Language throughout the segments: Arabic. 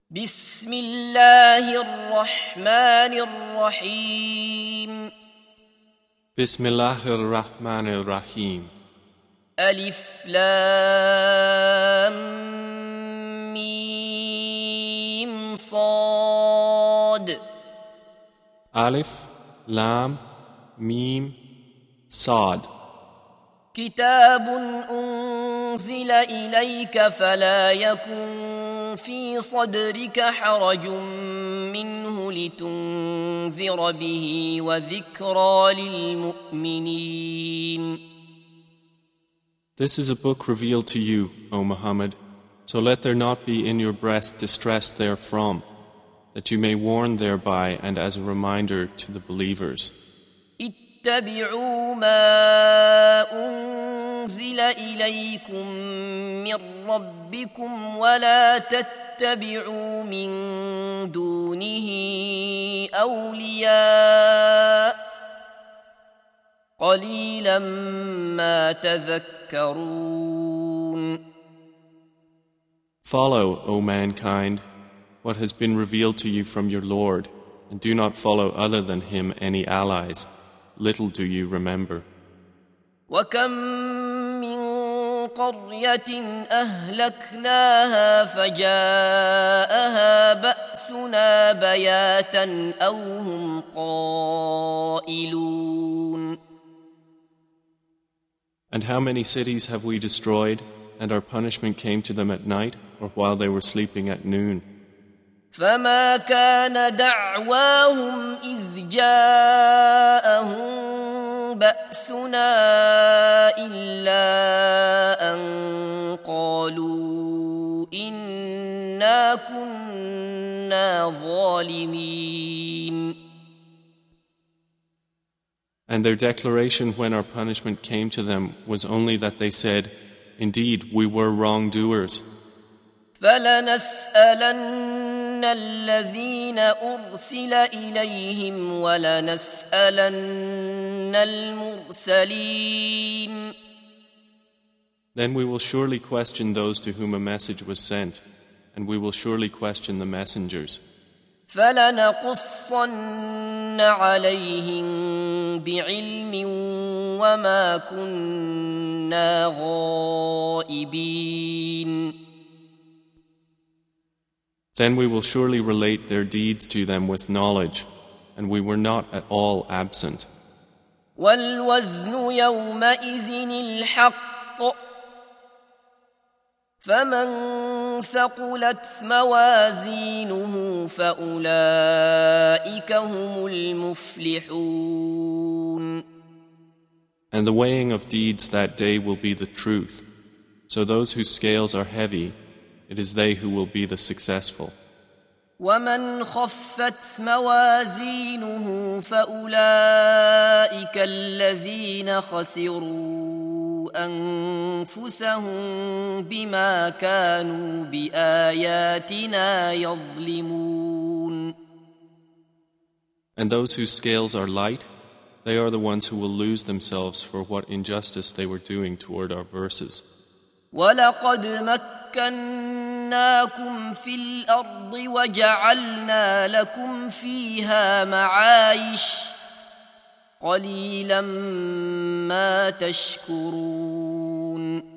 بسم الله الرحمن الرحيم بسم الله الرحمن الرحيم ألف لام ميم صاد ألف لام ميم صاد كتاب أنزل إليك فلا يكن في صدرك حرج منه لتنذر به وذكرى للمؤمنين. This is a book revealed to you, O Muhammad, so let there not be in your breast distress therefrom, that you may warn thereby and as a reminder to the believers. اتبعوا ما أنزل إليكم من ربكم ولا تتبعوا من دونه أولياء قليلا ما تذكرون. Follow, O mankind, what has been revealed to you from your Lord, and do not follow other than him any allies. Little do you remember. وكم من قرية أهلكناها فجاءها بأسنا بياتا أو هم قائلون. And how many cities have we destroyed, and our punishment came to them at night, or while they were sleeping at noon? فما كان دعواهم إذ جاءهم بأسنا إلا أن قالوا إنا كنا ظالمين. And their declaration when our punishment came to them was only that they said, "Indeed, we were wrongdoers." فلنسألن الذين أرسل إليهم ولنسألن المرسلين. Then we will surely question those to whom a message was sent, and we will surely question the messengers. فلنقصن عليهم بعلم وما كنا غائبين. Then we will surely relate their deeds to them with knowledge, and we were not at all absent. والوزن يومئذ الحق فمن ثقلت موازينه فأولئك هم المفلحون. And the weighing of deeds that day will be the truth. So those whose scales are heavy, it is they who will be the successful. ومن خفت موازينه فأولئك الذين خسروا أنفسهم بما كانوا بآياتنا يظلمون. And those whose scales are light, they are the ones who will lose themselves for what injustice they were doing toward our verses. ولقد مكناكم في الأرض وجعلنا لكم فيها معايش قليلا ما تشكرون.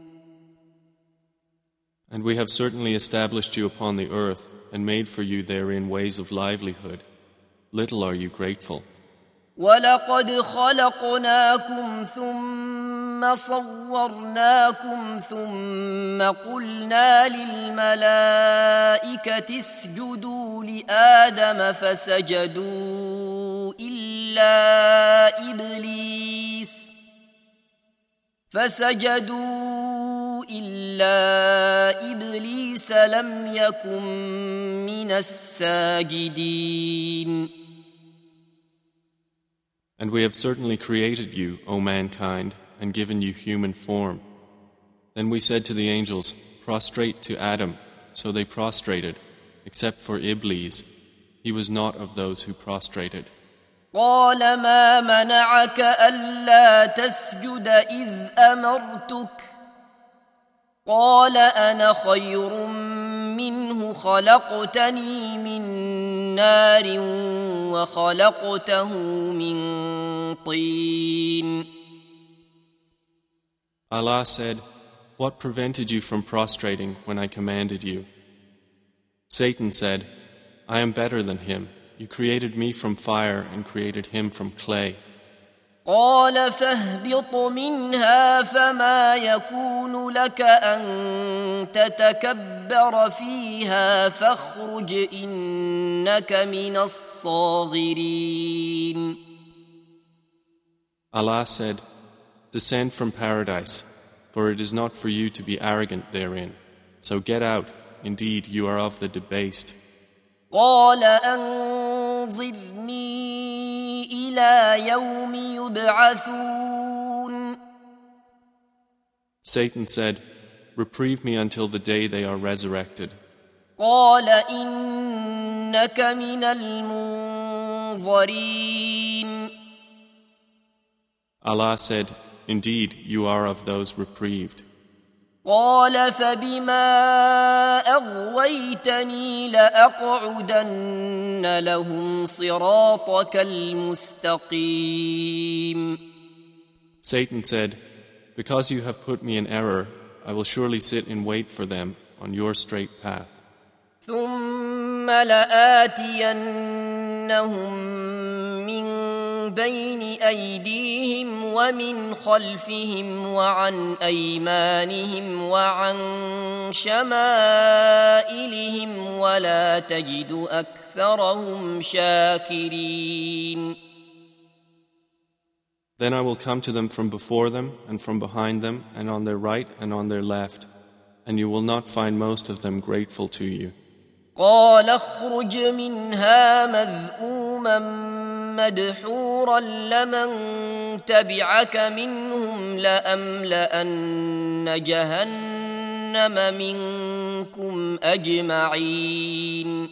And we have certainly established you upon the earth and made for you therein ways of livelihood. Little are you grateful. ولقد خلقناكم ثم صورناكم ثم قلنا للملائكة اسجدوا لآدم فسجدوا إلا إبليس لم يكن من الساجدين. And we have certainly created you, O mankind, and given you human form. Then we said to the angels, "Prostrate to Adam." So they prostrated, except for Iblis. He was not of those who prostrated. قال ما منعك ألا تسجد إذ أمرتك قال أنا خير منه خلقتني من نار وخلقته من طين. Allah said, "What prevented you from prostrating when I commanded you?" Satan said, "I am better than him. You created me from fire and created him from clay." قال فاهبط منها فما يكون لك أن تتكبر فيها فاخرج إنك من الصاغرين. Allah said, "Descend from paradise, for it is not for you to be arrogant therein. So get out, indeed you are of the debased." قال أنظرني إلى يوم يبعثون. Satan said, "Reprieve me until the day they are resurrected." قال إنك من المنظرين. Allah said, "Indeed, you are of those reprieved." قال فبما أغويتني لأقعدن لهم صراطك المستقيم. Satan said, "Because you have put me in error, I will surely sit in wait for them on your straight path. ثم لآتينهم من بين أيديهم ومن خلفهم وعن أيمانهم وعن شمائلهم ولا تجد أكثرهم شاكرين. Then I will come to them from before them and from behind them and on their right and on their left, and you will not find most of them grateful to you. قال اخرج منها مذءوما مدحورا لمن تبعك منهم لأملأن جهنم منكم أجمعين.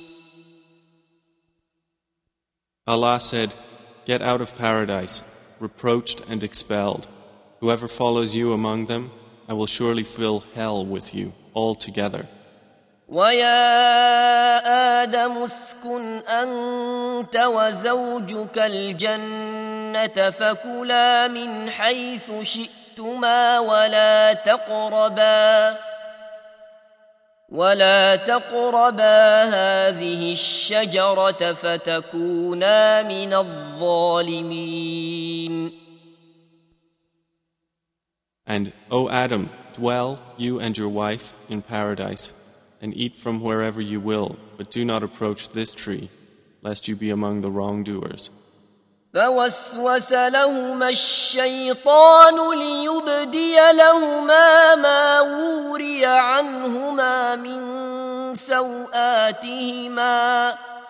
Allah said, "Get out of paradise, reproached and expelled. Whoever follows you among them, I will surely fill hell with you altogether." ويا آدم اسكن أنت وزوجك الجنة فكلا من حيث شئتما ولا تقربا هذه الشجرة فتكونا من الظالمين. And, O Adam, dwell, you and your wife, in paradise, and eat from wherever you will, but do not approach this tree, lest you be among the wrongdoers. فوسوس لهما الشيطان ليبدي لهما ما وري عنهما من سوآتهما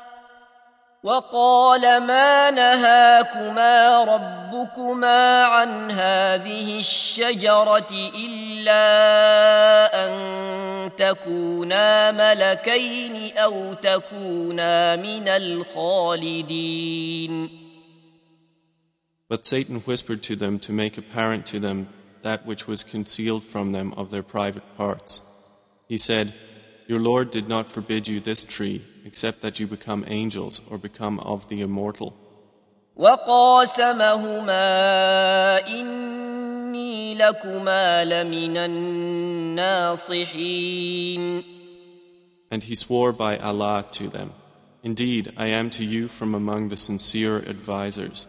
وقال ما نهاكما ربكما عن هذه الشجرة إلا أن تكونا ملكين أو تكونا من الخالدين. But Satan whispered to them to make apparent to them that which was concealed from them of their private parts. He said, "Your Lord did not forbid you this tree, except that you become angels or become of the immortal." وقاسمهما إني لكما لمن الناصحين. And he swore by Allah to them, "Indeed, I am to you from among the sincere advisers."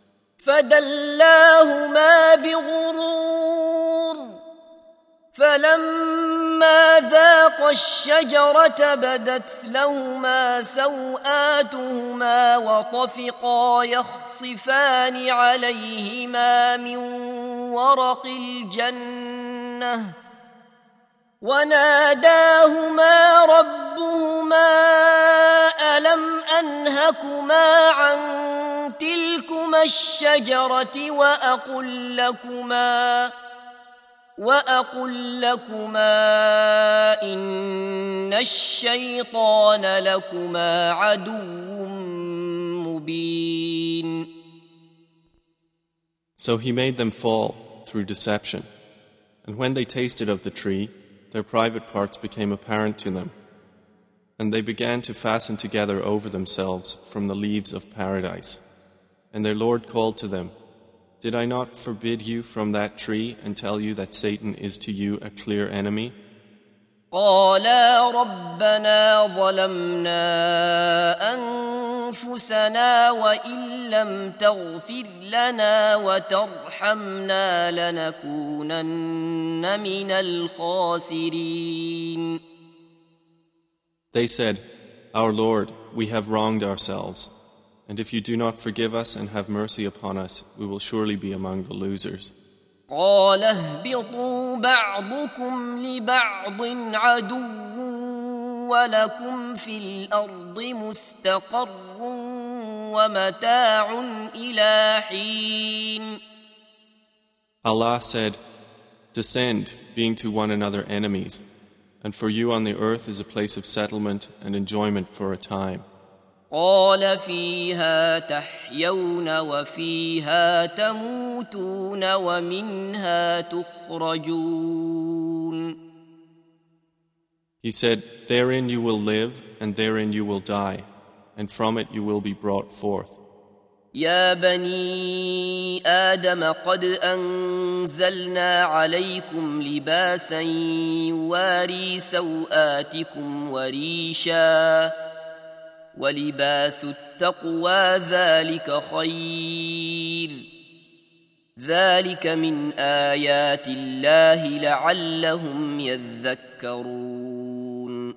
فدلاهما بغرور فلما ذاقا الشجرة بدت لهما سوآتهما وطفقا يخصفان عليهما من ورق الجنة وناداهما ربهما ألم أنهكما عن تلكما الشجرة وأقل لكما إن الشيطان لكما عدو مبين. So he made them fall through deception, and when they tasted of the tree, their private parts became apparent to them, And they began to fasten together over themselves from the leaves of paradise. And their Lord called to them, "Did I not forbid you from that tree and tell you that Satan is to you a clear enemy?" قالا ربنا ظلمنا أنفسنا وإن لم تغفر لنا وترحمنا لنكونن من الخاسرين. They said, "Our Lord, we have wronged ourselves, and if you do not forgive us and have mercy upon us, we will surely be among the losers." قال اهبطوا بعضكم لبعض عدو ولكم في الأرض مستقر ومتاع إلى حين. Allah said, "Descend, being to one another enemies, and for you on the earth is a place of settlement and enjoyment for a time." قال فيها تحيون وفيها تموتون ومنها تخرجون. He said, "Therein you will live, and therein you will die, and from it you will be brought forth." يا بني آدم قد أنزلنا عليكم لباسا يواري سوآتكم وريشا ولباس التقوى ذلك خير ذلك من آيات الله لعلهم يذكرون.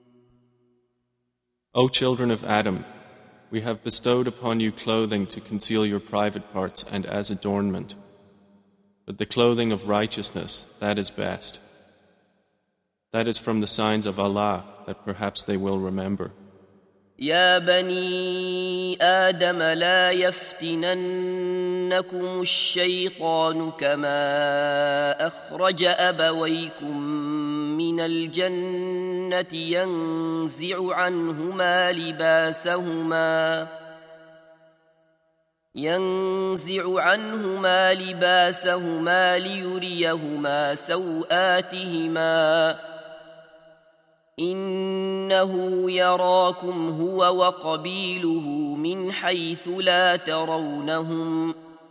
O children of Adam, we have bestowed upon you clothing to conceal your private parts and as adornment. But the clothing of righteousness, that is best. That is from the signs of Allah that perhaps they will remember. يا بني آدم لا يفتننكم الشيطان كما أخرج أبويكم من الجنة ينزع عنهما لباسهما ليريهما سوآتهما إنه يراكم هو وقبيله من حيث لا ترونهم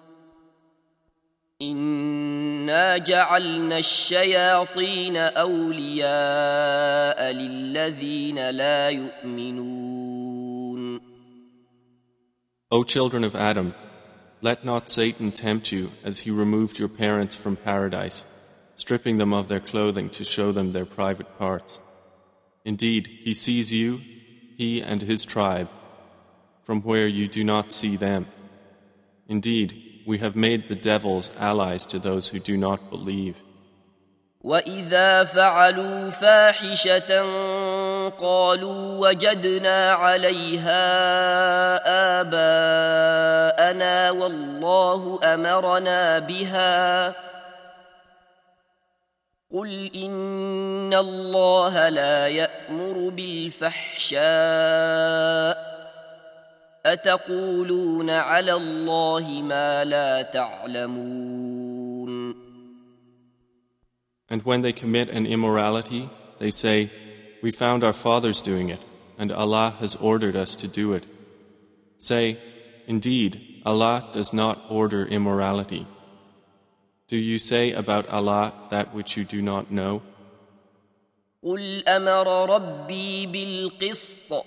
إنا جعلنا الشياطين أولياء للذين لا يؤمنون. O children of Adam, let not Satan tempt you as he removed your parents from paradise, stripping them of their clothing to show them their private parts. Indeed, he sees you, he and his tribe, from where you do not see them. Indeed, we have made the devils allies to those who do not believe. وَإِذَا فَعَلُوا فَاحِشَةً قَالُوا وَجَدْنَا عَلَيْهَا آبَاءَنَا وَاللَّهُ أَمَرَنَا بِهَا قُلْ إِنَّ اللَّهَ لَا يَأْمُرُ بِالْفَحْشَاءِ أَتَقُولُونَ عَلَى اللَّهِ مَا لَا تَعْلَمُونَ. And when they commit an immorality, they say, "We found our fathers doing it, and Allah has ordered us to do it." Say, "Indeed, Allah does not order immorality." Do you say about Allah that which you do not know? قُلْ أَمَرَ رَبِّي بِالْقِسْطِ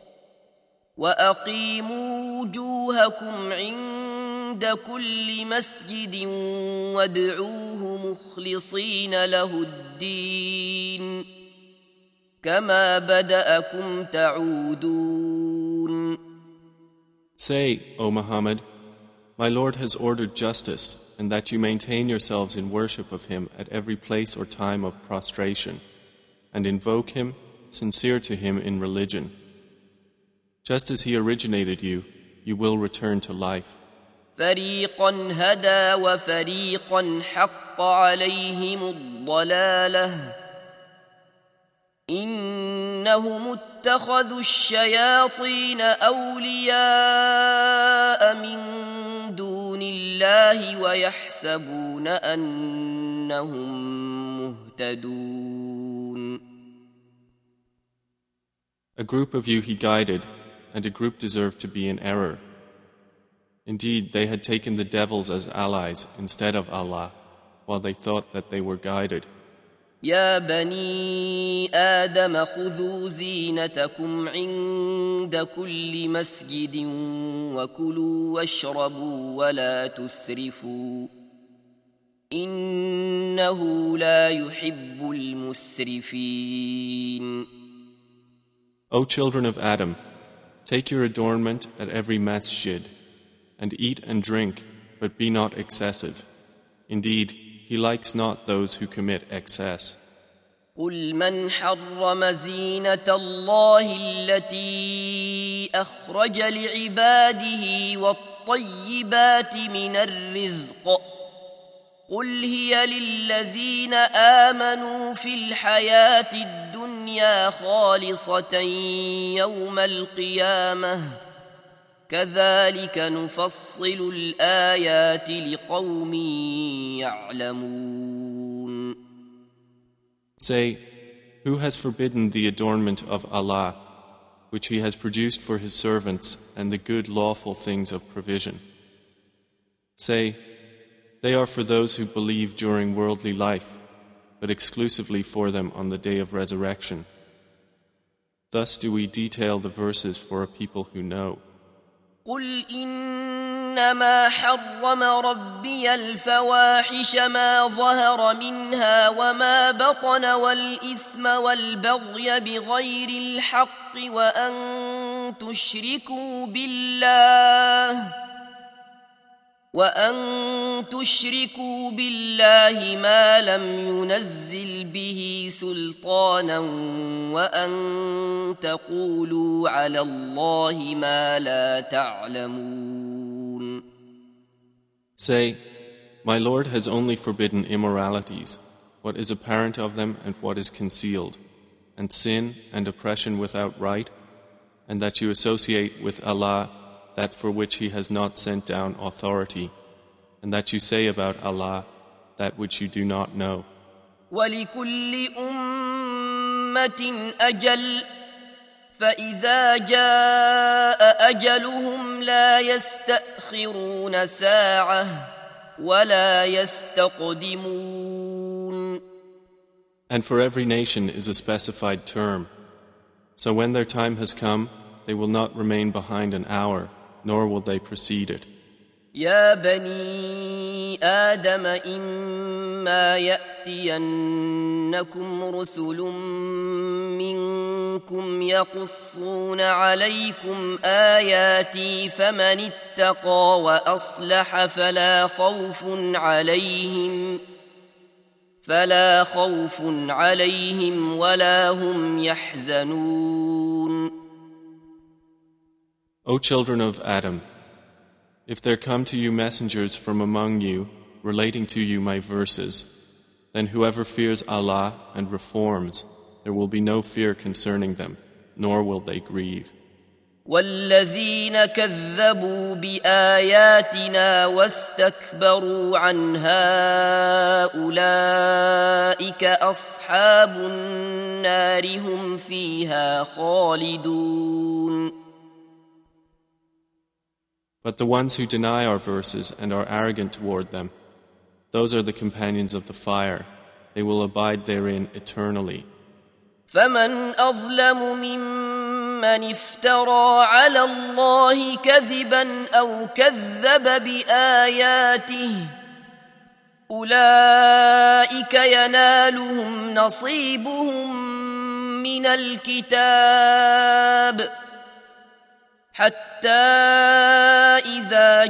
وَأَقِيمُوا وُجُوهَكُمْ عِندَ كُلِّ مَسْجِدٍ وَادْعُوهُ مُخْلِصِينَ لَهُ الدِّينَ كَمَا بَدَأَكُمْ تَعُودُونَ. Say, O Muhammad, my Lord has ordered justice, and that you maintain yourselves in worship of Him at every place or time of prostration, and invoke Him, sincere to Him in religion. Just as He originated you, you will return to life. فَرِيقًا هَدَى وَفَرِيقًا حَقَّ عَلَيْهِمُ الضَّلَالَةُ إِنَّهُمُ اتَّخَذُوا الشَّيَاطِينَ أَوْلِيَاءَ مِن دُونِ اللَّهِ وَيَحْسَبُونَ أَنَّهُم مُّهْتَدُونَ. A group of you he guided, and a group deserved to be in error. Indeed, they had taken the devils as allies instead of Allah, while they thought that they were guided. يا بني آدم خذوا زينتكم عند كل مسجد وكلوا واشربوا ولا تسرفوا إنه لا يحب المسرفين. O children of Adam, take your adornment at every masjid, and eat and drink, but be not excessive. Indeed, He likes not those who commit excess. قل من حرم زينة الله التي أخرج لعباده والطيبات من الرزق قل هي للذين آمنوا في الحياة الدنيا خالصة يوم القيامة كذلك نفصل الآيات لقوم يعلمون. Say, who has forbidden the adornment of Allah, which He has produced for His servants and the good lawful things of provision? Say, they are for those who believe during worldly life, but exclusively for them on the day of resurrection. Thus do we detail the verses for a people who know. قل إنما حرم ربي الفواحش ما ظهر منها وما بطن والإثم والبغي بغير الحق وأن تشركوا بالله ما لم ينزل به سلطانا وأن تقولوا على الله ما لا تعلمون. Say, my Lord has only forbidden immoralities, what is apparent of them and what is concealed, and sin and oppression without right, and that you associate with Allah that for which He has not sent down authority, and that you say about Allah that which you do not know. وَلِكُلِّ أُمَّةٍ أَجَلٌ فَإِذَا جَاءَ أَجَلُهُمْ لَا يَسْتَأْخِرُونَ سَاعَةً وَلَا يَسْتَقْدِمُونَ. And for every nation is a specified term. So when their time has come, they will not remain behind an hour, nor will they precede it. يا بني آدم إما يأتينكم رسل منكم يقصون عليكم آياتي فمن اتقى وأصلح فلا خوف عليهم ولا هم يحزنون. O children of Adam, if there come to you messengers from among you, relating to you my verses, then whoever fears Allah and reforms, there will be no fear concerning them, nor will they grieve. والذين كذبوا بآياتنا واستكبروا عنها أولئك أصحاب النار هم فيها خالدون. But the ones who deny our verses and are arrogant toward them, those are the companions of the fire. They will abide therein eternally. فمن أظلم ممن افترى على الله كذبا أو كذب بآياته أولئك ينالهم نصيبهم من الكتاب حتى إذا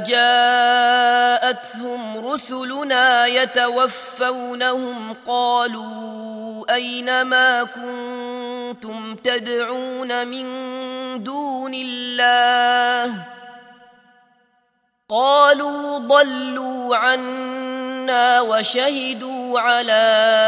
جاءتهم رسلنا يتوفونهم قالوا أين ما كنتم تدعون من دون الله قالوا ضلوا عنا وشهدوا على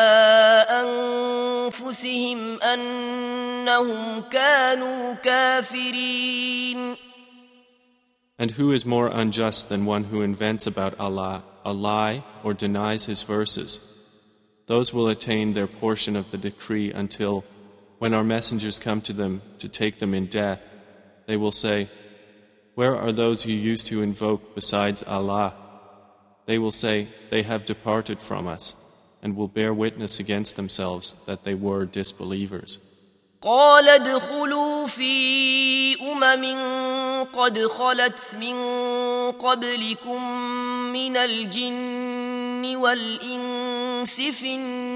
أنفسهم أنهم كانوا كافرين. And who is more unjust than one who invents about Allah a lie or denies His verses? Those will attain their portion of the decree until, when our messengers come to them to take them in death, they will say, "Where are those you used to invoke besides Allah?" They will say, "They have departed from us," and will bear witness against themselves that they were disbelievers. قال ادخلوا في قد خلت من قبلكم من الجن والإنس في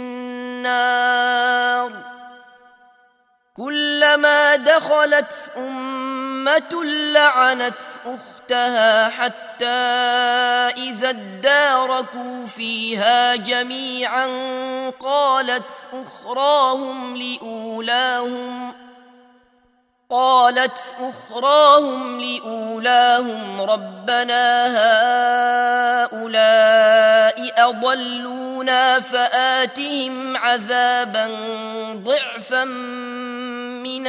النار كلما دخلت أمة لعنت أختها حتى إذا اداركوا فيها جميعا قالت أخراهم لأولاهم ربنا هؤلاء أضلونا فآتهم عذابا ضعفا من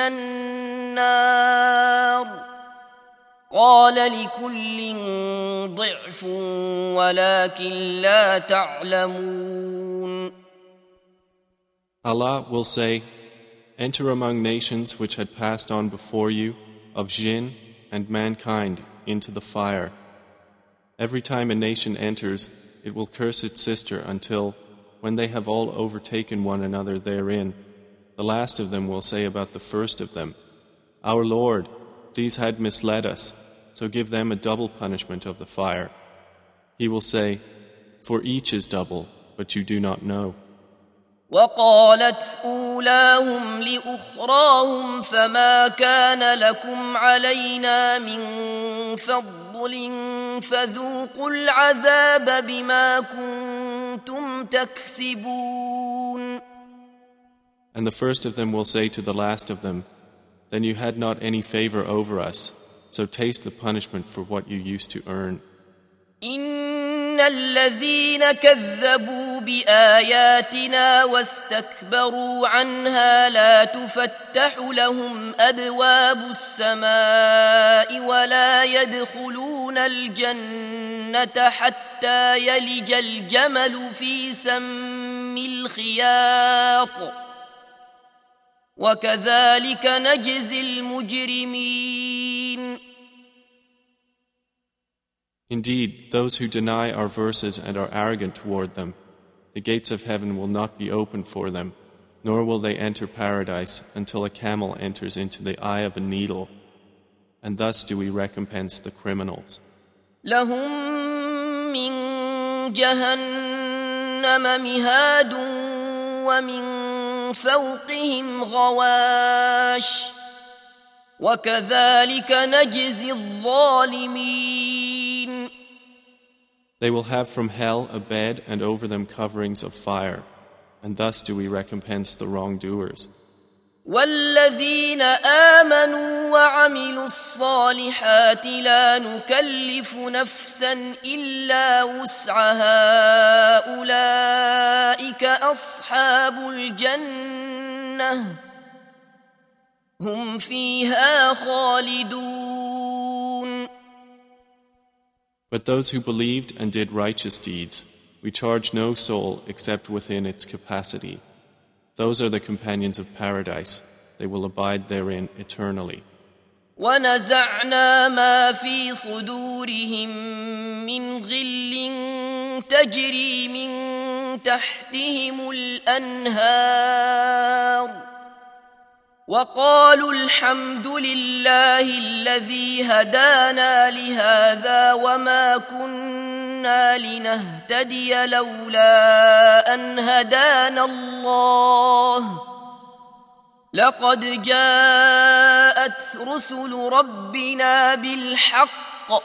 النار قال لكل ضعف ولكن لا تعلمون. Allah will say, "Enter among nations which had passed on before you, of jinn and mankind, into the fire. Every time a nation enters, it will curse its sister until, when they have all overtaken one another therein, the last of them will say about the first of them, 'Our Lord, these had misled us, so give them a double punishment of the fire.' He will say, 'For each is double, but you do not know.'" وقالت أولاهم لأخراهم فما كان لكم علينا من فضل فذوقوا العذاب بما كنتم تكسبون. And the first of them will say to the last of them, "Then you had not any favor over us, so taste the punishment for what you used to earn." إن الذين كذبوا بآياتنا واستكبروا عنها لا تفتح لهم أبواب السماء ولا يدخلون الجنة حتى يلج الجمل في سم الخياط وكذلك نجزي المجرمين. Indeed, those who deny our verses and are arrogant toward them, the gates of heaven will not be opened for them, nor will they enter paradise until a camel enters into the eye of a needle, and thus do we recompense the criminals. لهم من جهنم مهاد ومن فوقهم غواش وكذلك نجزي الظالمين. They will have from hell a bed and over them coverings of fire, and thus do we recompense the wrongdoers. والذين آمنوا وعملوا الصالحات لا نكلف نفسا إلا وسعها أولئك أصحاب الجنة هم فيها خالدون. But those who believed and did righteous deeds, we charge no soul except within its capacity. Those are the companions of paradise. They will abide therein eternally. ونزعنا ما في صدورهم من غل تجري من تحتهم الأنهار وقالوا الحمد لله الذي هدانا لهذا وما كنا لنهتدي لولا أن هدانا الله لقد جاءت رسل ربنا بالحق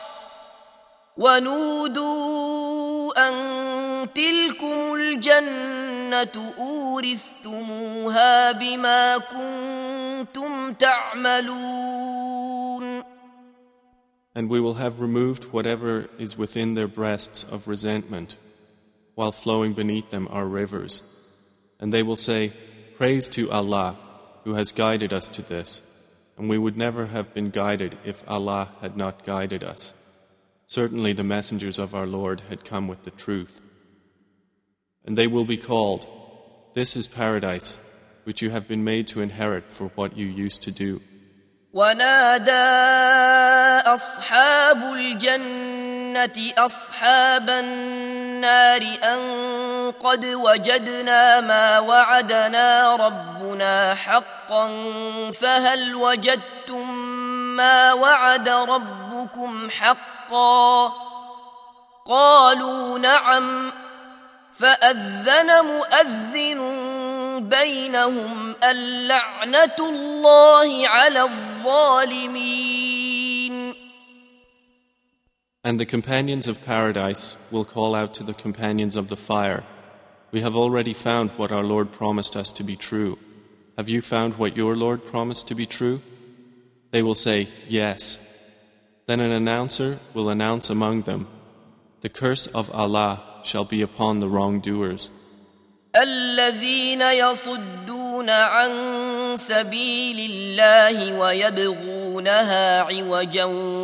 ونودوا أن تلكم الجنة أورثتموها بما كنتم تعملون. And we will have removed whatever is within their breasts of resentment, while flowing beneath them are rivers. And they will say, "Praise to Allah, who has guided us to this, and we would never have been guided if Allah had not guided us. Certainly the messengers of our Lord had come with the truth." And they will be called, "This is paradise. which you have been made to inherit for what you used to do. ونادى أصحاب الجنة أصحاب النار أن قد وجدنا ما وعدنا ربنا حقا فهل وجدتم ما وعد ربكم حقا قالوا نعم فأذن مؤذن بينهم اللعنة الله على الظالمين. And the companions of paradise will call out to the companions of the fire, "We have already found what our Lord promised us to be true. Have you found what your Lord promised to be true?" They will say, "Yes." Then an announcer will announce among them, "The curse of Allah shall be upon the wrongdoers." الذين يصدون عن سبيل الله ويبغونها عوجا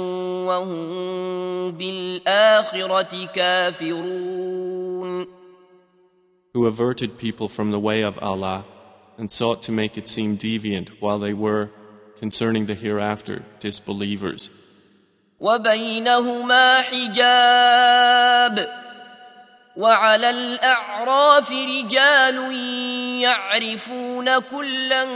وهم بالآخرة كافرون. Who averted people from the way of Allah and sought to make it seem deviant while they were, concerning the hereafter, disbelievers. وبينهما حجاب وعلى الأعراف رجال يعرفون كلا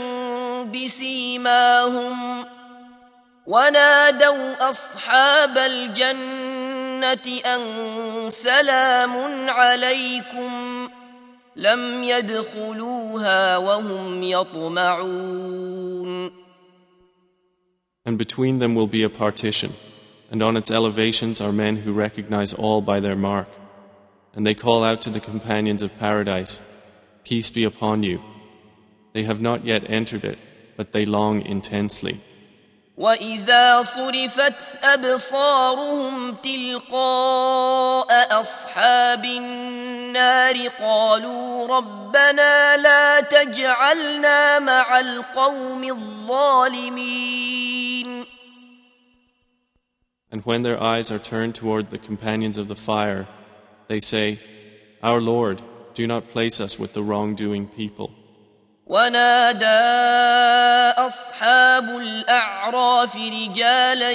بسيماهم ونادوا أصحاب الجنة أن سلام عليكم لم يدخلوها وهم يطمعون. And between them will be a partition, and on its elevations are men who recognize all by their mark. And they call out to the companions of paradise, "Peace be upon you." They have not yet entered it, but they long intensely. وَإِذَا صُرِفَتْ أَبْصَارُهُمْ تِلْقَاءَ أَصْحَابِ النَّارِ قَالُوا رَبَّنَا لَا تَجْعَلْنَا مَعَ الْقَوْمِ الظَّالِمِينَ. And when their eyes are turned toward the companions of the fire, they say, "Our Lord, do not place us with the wrongdoing people." ونادى أصحاب الأعراف رجالا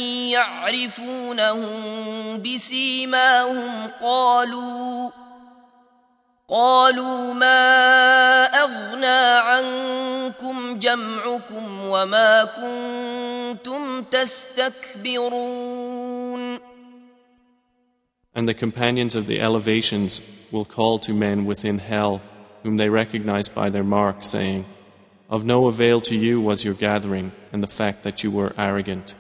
يعرفونهم بسيماهم قالوا ما أغنى عنكم جمعكم وما كنتم تستكبرون. And the companions of the elevations will call to men within hell, whom they recognize by their mark, saying, "Of no avail to you was your gathering and the fact that you were arrogant."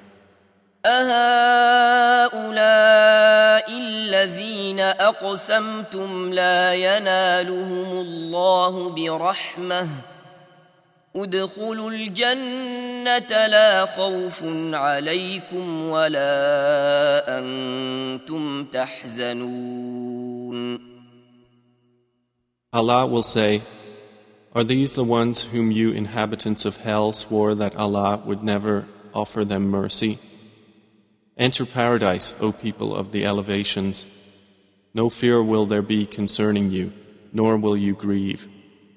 أهؤلاء الذين أقسمتم لا ينالهم الله برحمة ادخلوا الجنة لا خوف عليكم ولا أنتم تحزنون. Allah will say, "Are these the ones whom you inhabitants of hell swore that Allah would never offer them mercy? Enter paradise, O people of the elevations. No fear will there be concerning you, nor will you grieve."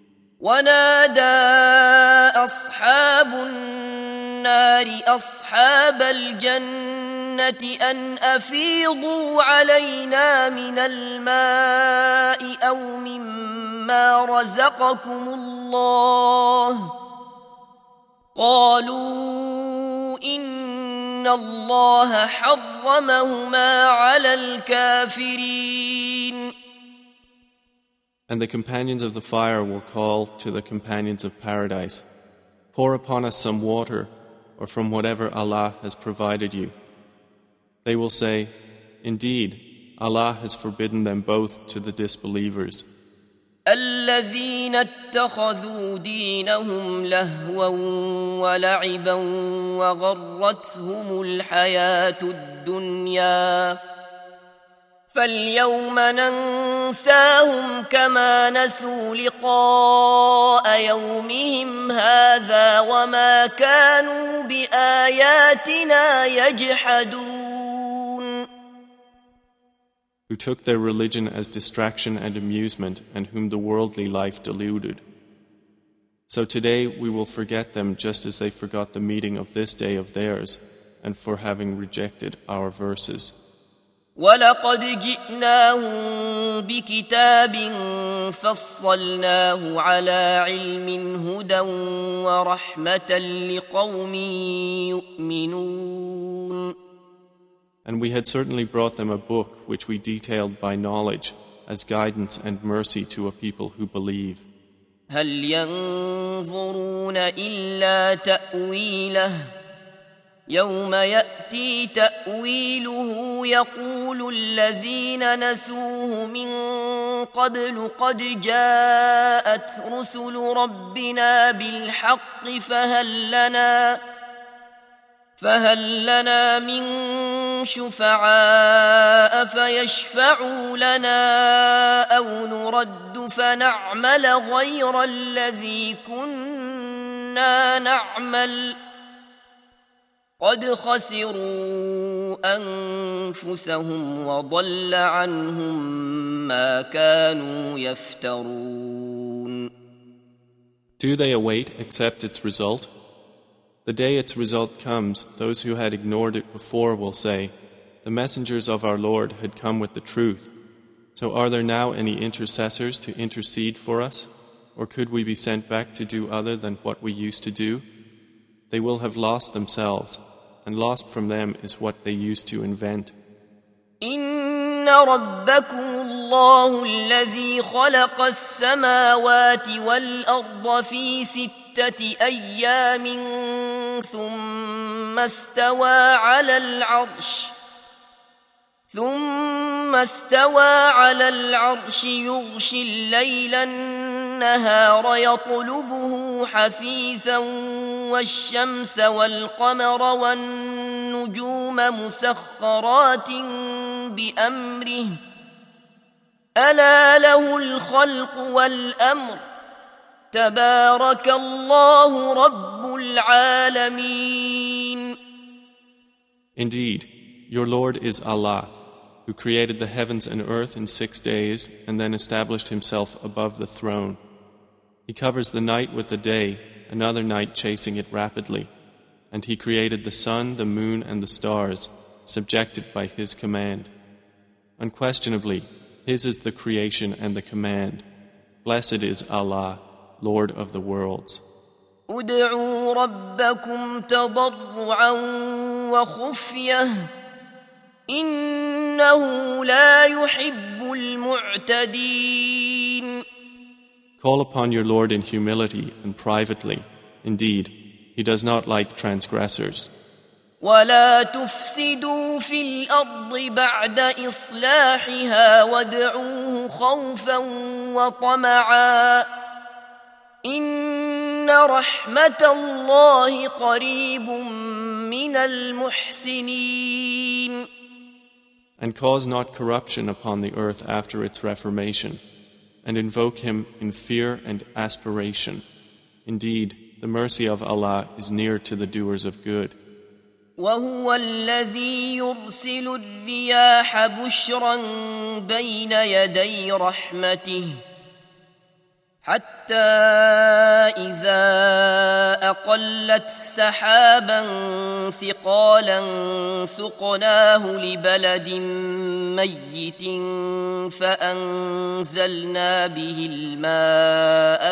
ونادى أصحاب النار أصحاب الجنة أن أفيضوا علينا من الماء أو مما رزقكم الله قالوا إن الله حرمهما على الكافرين. And the companions of the fire will call to the companions of paradise, "Pour upon us some water, or from whatever Allah has provided you." They will say, "Indeed, Allah has forbidden them both to the disbelievers." الذين اتخذوا دينهم لهوا ولعبا وغرتهم الحياة الدنيا فاليوم ننساهم كما نسوا لقاء يومهم هذا وما كانوا بآياتنا يجحدون. Who took their religion as distraction and amusement and whom the worldly life deluded. So today we will forget them just as they forgot the meeting of this day of theirs, and for having rejected our verses. وَلَقَدْ جِئْنَاهُمْ بِكِتَابٍ فَصَّلْنَاهُ عَلَى عِلْمٍ هُدًى وَرَحْمَةً لِقَوْمٍ يُؤْمِنُونَ. And we had certainly brought them a book which we detailed by knowledge as guidance and mercy to a people who believe. هَلْ يَنظُرُونَ إِلَّا تَأْوِيلَهُ يَوْمَ يَأْتِي تَأْوِيلُهُ يَقُولُ الَّذِينَ نَسُوهُ مِن قَبْلُ قَدْ جَاءَتْ رُسُلُ رَبِّنَا بِالْحَقِّ فهل لنا من شفعاء فيشفعوا لنا أو نرد فنعمل غير الذي كنا نعمل قد خسروا أنفسهم وضل عنهم ما كانوا يفترون. Do they await except its result? The day its result comes, those who had ignored it before will say, "The messengers of our Lord had come with the truth. So are there now any intercessors to intercede for us? Or could we be sent back to do other than what we used to do?" They will have lost themselves, and lost from them is what they used to invent. إن ربكم الله الذي خلق السماوات والأرض في 6 أيام ثم استوى على العرش يغشي الليل النهار يطلبه حثيثا والشمس والقمر والنجوم مسخرات بأمره ألا له الخلق والأمر تبارك الله رب العالمين. Indeed, your Lord is Allah, who created the heavens and earth in 6 days and then established himself above the throne. He covers the night with the day, another night chasing it rapidly. And he created the sun, the moon, and the stars, subjected by his command. Unquestionably, his is the creation and the command. Blessed is Allah, Lord of the worlds. ادعوا ربكم تضرعا وخفية إنه لا يحب المعتدين. Call upon your Lord in humility and privately. Indeed, he does not like transgressors. ولا تفسدوا في الأرض بعد إصلاحها وادعوه خوفا وطمعا إن رحمة الله قريب من المحسنين. And cause not corruption upon the earth after its reformation, and invoke him in fear and aspiration. Indeed, the mercy of Allah is near to the doers of good. وهو الذي يرسل الرياح بشرا بين يدي رحمته حتى إذا أقلت سحابا ثقالا سقناه لبلد ميت فأنزلنا به الماء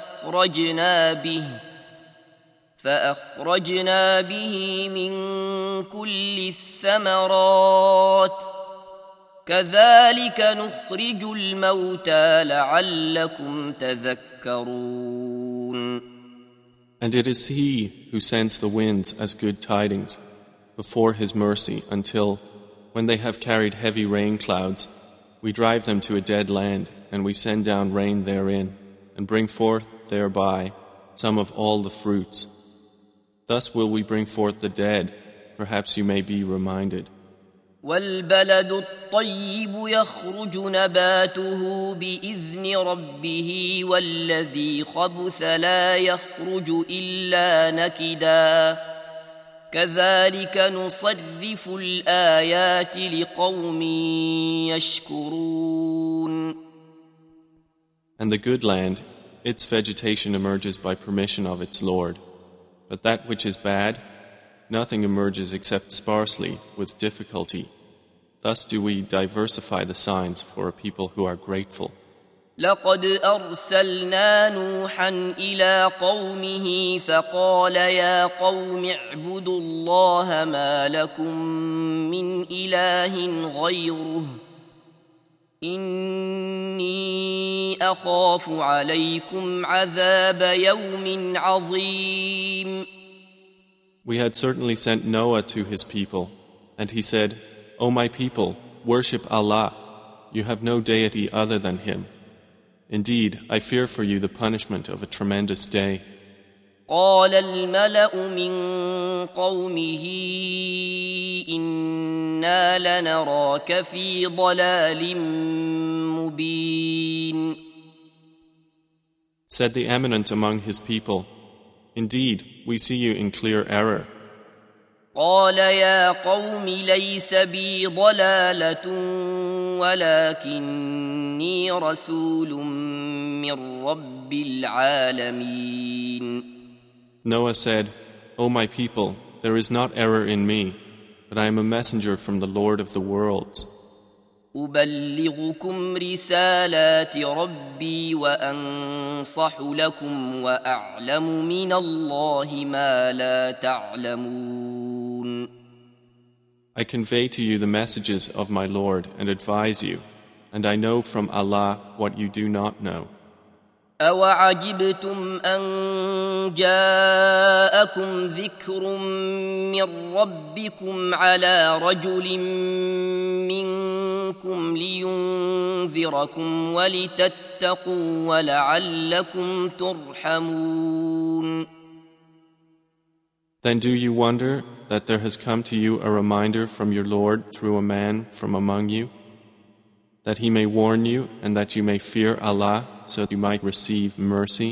فأخرجنا به من كل الثمرات كذلك نخرج الموتى لعلكم تذكرون. And it is He who sends the winds as good tidings before His mercy until, when they have carried heavy rain clouds, we drive them to a dead land and we send down rain therein and bring forth thereby some of all the fruits. Thus will we bring forth the dead, perhaps you may be reminded. والبلد الطيب يخرج نباته بإذن ربه والذي خبث لا يخرج إلا نكدا كذلك نصرف الآيات لقوم يشكرون. And the good land its vegetation emerges by permission of its Lord. But that which is bad, nothing emerges except sparsely, with difficulty. Thus do we diversify the signs for a people who are grateful. لقد أرسلنا نوحا إلى قومه فقال يا قوم اعبدوا الله ما لكم من إله غيره إني أخاف عليكم عذاب يوم عظيم. We had certainly sent Noah to his people, and he said, O my people, worship Allah. You have no deity other than Him. Indeed, I fear for you the punishment of a tremendous day. قال الملأ من قومه إنا لنراك في ضلال مبين. Said the eminent among his people, Indeed, we see you in clear error. قال يا قوم ليس بي ضلالة ولكني رسول من رب العالمين. Noah said, O my people, there is not error in me, but I am a messenger from the Lord of the worlds. أبلغكم رسالات ربي وأنصح لكم وأعلم من الله ما لا تعلمون. I convey to you the messages of my Lord and advise you, and I know from Allah what you do not know. أَوَعَجِبْتُمْ أَنْ جَاءَكُمْ ذِكْرٌ مِّن رَّبِّكُمْ عَلَى رَجُلٍ مِّنكُمْ لِيُنذِرَكُمْ وَلِتَتَّقُوا وَلَعَلَّكُمْ تُرْحَمُونَ. Then do you wonder that there has come to you a reminder from your Lord through a man from among you, that he may warn you and that you may fear Allah so you might receive mercy?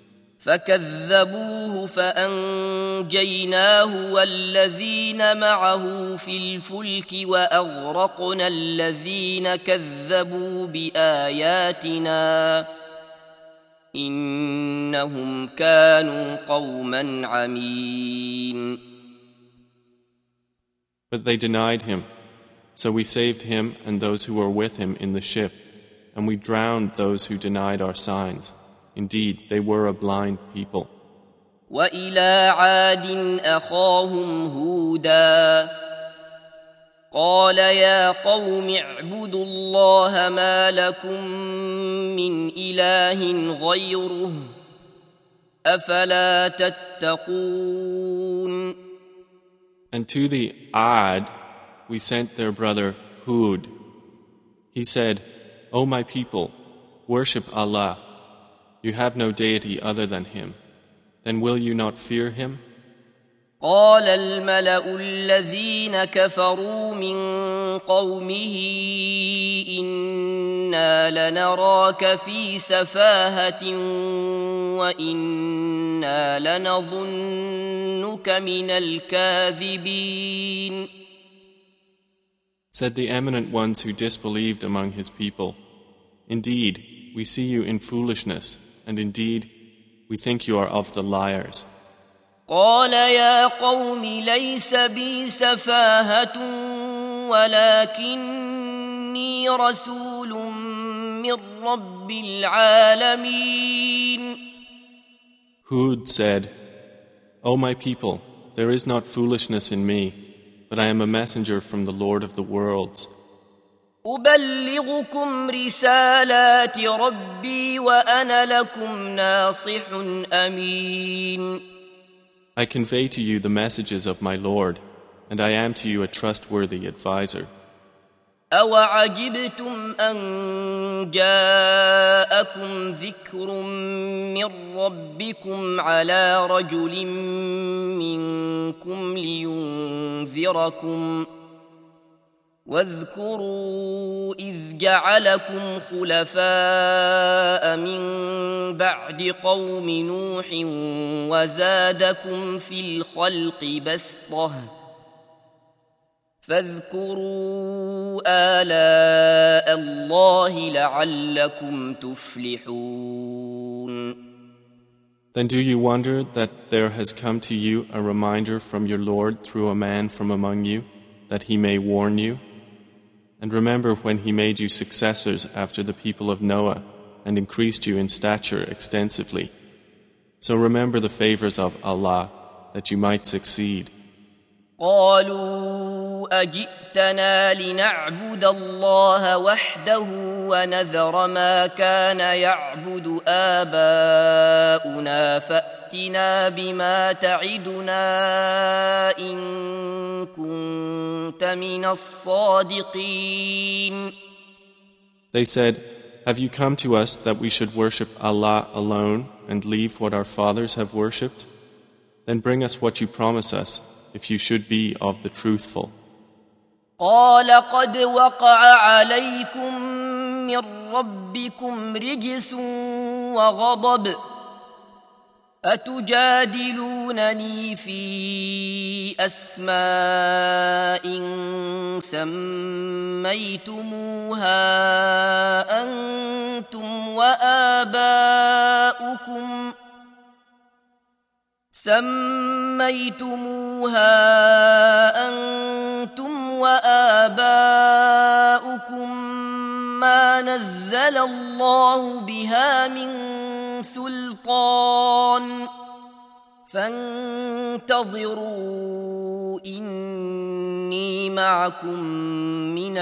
فكذبوه فأنجيناه والذين معه في الفلك وأغرقنا الذين كذبوا بآياتنا إنهم كانوا قوما عمين. But they denied him, so we saved him and those who were with him in the ship, and we drowned those who denied our signs. Indeed, they were a blind people. وَإِلَىٰ عَادٍ أَخَاهُمْ هُودًا قَالَ يَا قَوْمِ اعْبُدُوا اللَّهَ مَا لَكُم مِّنْ إِلَٰهٍ غَيْرُهُ أَفَلَا تَتَّقُونَ. And to the Ad we sent their brother Hud. He said, O my people, worship Allah. You have no deity other than Him. Then will you not fear Him? قال الملأ الذين كفروا من قومه إنا لنراك في سفاهة وإنا لنظنك من الكاذبين. Said the eminent ones who disbelieved among his people, Indeed, we see you in foolishness, and indeed, we think you are of the liars. قال يا قوم ليس بي سفاهة ولكني رسول من رب العالمين. Hud said, O my people, there is not foolishness in me, but I am a messenger from the Lord of the worlds. أبلغكم رسالات ربي وأنا لكم ناصح أمين. I convey to you the messages of my Lord, and I am to you a trustworthy advisor. أَوَعَجِبْتُمْ أَنْ جَاءَكُمْ ذِكْرٌ مِّن رَّبِّكُمْ عَلَى رَجُلٍ مِّنكُمْ لِيُنذِرَكُمْ واذكروا إذ جعلكم خلفاء من بعد قوم نوح وزادكم في الخلق بسطة فاذكروا آلاء الله لعلكم تفلحون. Then do you wonder that there has come to you a reminder from your Lord through a man from among you, that he may warn you? And remember when he made you successors after the people of Noah and increased you in stature extensively. So remember the favors of Allah, that you might succeed. قالوا أجئتنا لنعبد الله وحده ونذر ما كان يعبد آباؤنا فأتنا بما تعدنا إن كنت من الصادقين. They said, have you come to us that we should worship Allah alone and leave what our fathers have worshipped? Then bring us what you promise us, if you should be of the truthful. قال قد وقع عليكم من ربكم رجس وغضب أتجادلونني في أسماء سميتموها أنتم وآباؤكم ما نزل الله بها من سلطان فانتظروا إني معكم من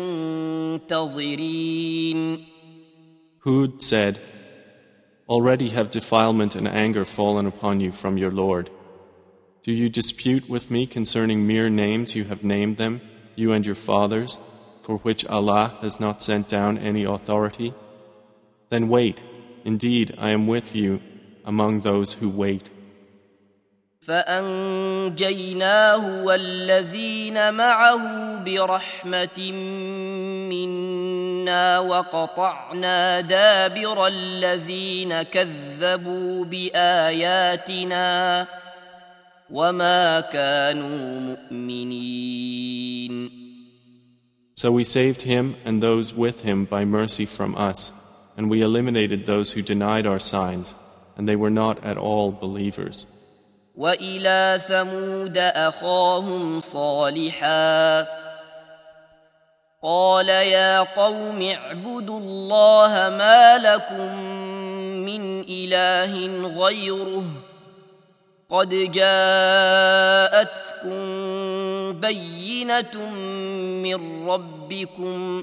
المنتظرين. Hud said, already have defilement and anger fallen upon you from your Lord. Do you dispute with me concerning mere names you have named them, you and your fathers, for which Allah has not sent down any authority? Then wait, indeed I am with you among those who wait. فأنجيناه والذين معه برحمة منا وقطعنا دابر الذين كذبوا بآياتنا وما كانوا مؤمنين. So we saved him and those with him by mercy from us, and we eliminated those who denied our signs, and they were not at all believers. وإلى ثمود أخاهم صالحا قال يا قوم اعبدوا الله ما لكم من إله غيره قد جاءتكم بينة من ربكم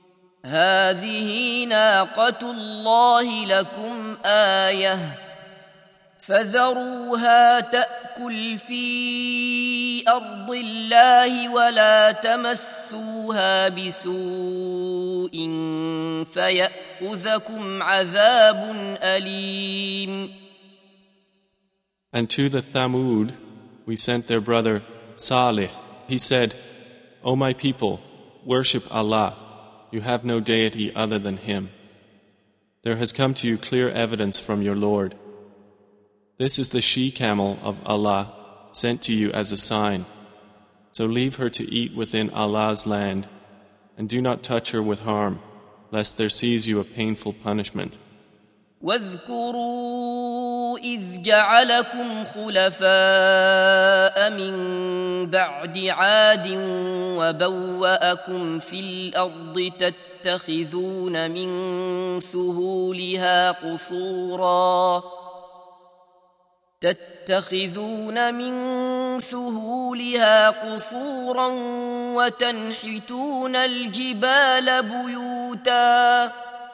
هذه ناقة الله لكم آية فذروها تأكل في أرض الله ولا تمسوها بسوء فيأخذكم عذاب أليم. And to the Thamud we sent their brother Salih. He said, O my people, worship Allah. You have no deity other than Him. There has come to you clear evidence from your Lord. This is the she-camel of Allah, sent to you as a sign. So leave her to eat within Allah's land, and do not touch her with harm, lest there seize you a painful punishment. واذكروا إذ جعلكم خلفاء من بعد عاد وبوأكم في الأرض تتخذون من سهولها قصورا وتنحتون الجبال بيوتا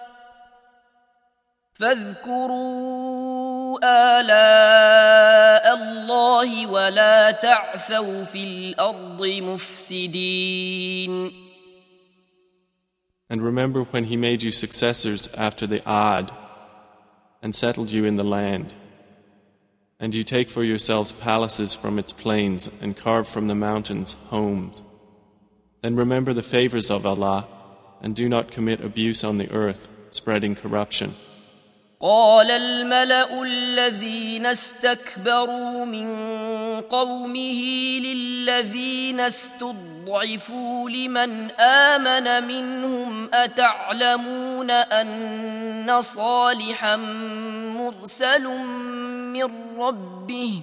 فاذكروا آلاء الله ولا تعثوا في الأرض مفسدين. And remember when He made you successors after the Ad and settled you in the land. And you take for yourselves palaces from its plains and carve from the mountains homes. Then remember the favors of Allah and do not commit abuse on the earth, spreading corruption. قال الملأ الذين استكبروا من قومه للذين استضعفوا لمن آمن منهم أتعلمون أن صالحا مرسل من ربه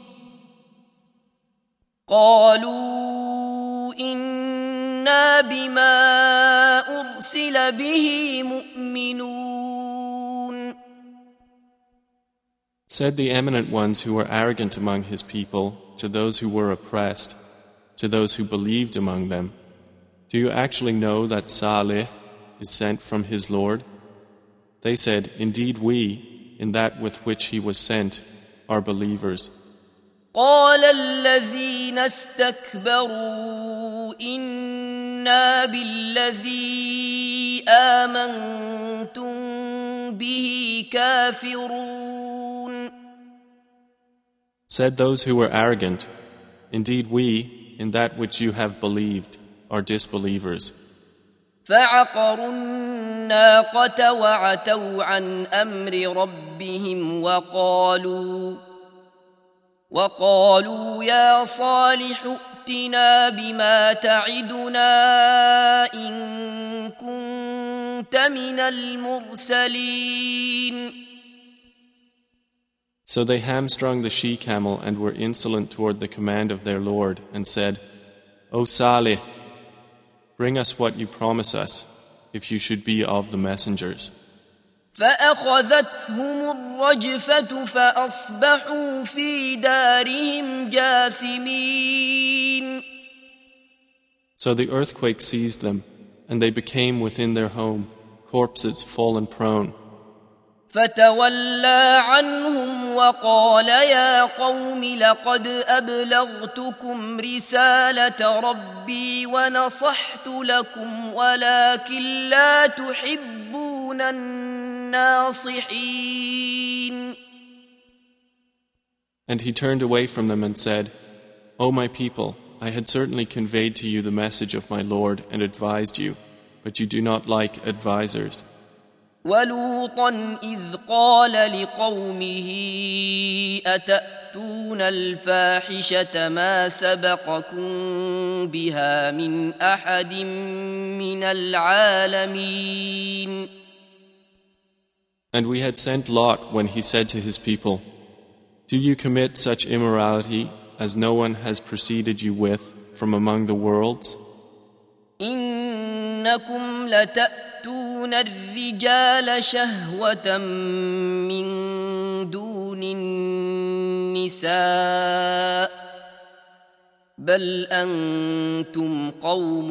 قالوا إنا بما أرسل به مؤمنون. Said the eminent ones who were arrogant among his people to those who were oppressed, to those who believed among them, do you actually know that Salih is sent from his Lord? They said, indeed we, in that with which he was sent, are believers. قال الذين استكبروا إنا بالذي آمنتم به كافرون. Said those who were arrogant, indeed we, in that which you have believed, are disbelievers. فعقروا الناقة وعتوا عن أمر ربهم وقالوا يا صالح ائتنا بما تعدنا إن كنت من المرسلين. So they hamstrung the she-camel and were insolent toward the command of their Lord and said, O Salih, bring us what you promise us, if you should be of the messengers. فأخذتهم الرجفة فأصبحوا في دارهم جاثمين. So the earthquake seized them, and they became within their home, corpses fallen prone. فتولى عنهم وقال يا قوم لقد أبلغتكم رسالة ربي ونصحت لكم ولكن لا تحبون الناصحين. And he turned away from them and said, O my people, I had certainly conveyed to you the message of my Lord and advised you, but you do not like advisers. ولوطا إذ قال لقومه أتأتون الفاحشة ما سبقكم بها من أحد من العالمين. And we had sent Lot when he said to his people, Do you commit such immorality as no one has preceded you with from among the worlds? إنكم لتأتون الرجال شهوة من دون النساء بل أنتم قوم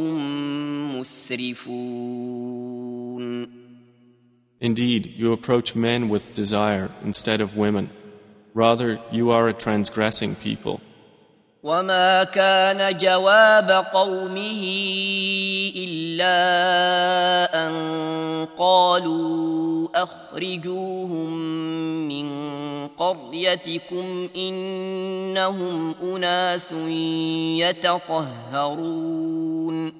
مسرفون. Indeed, you approach men with desire instead of women. Rather, you are a transgressing people. وما كان جواب قومه إلا أن قالوا أخرجوهم من قريتكم إنهم أناس يتطهرون.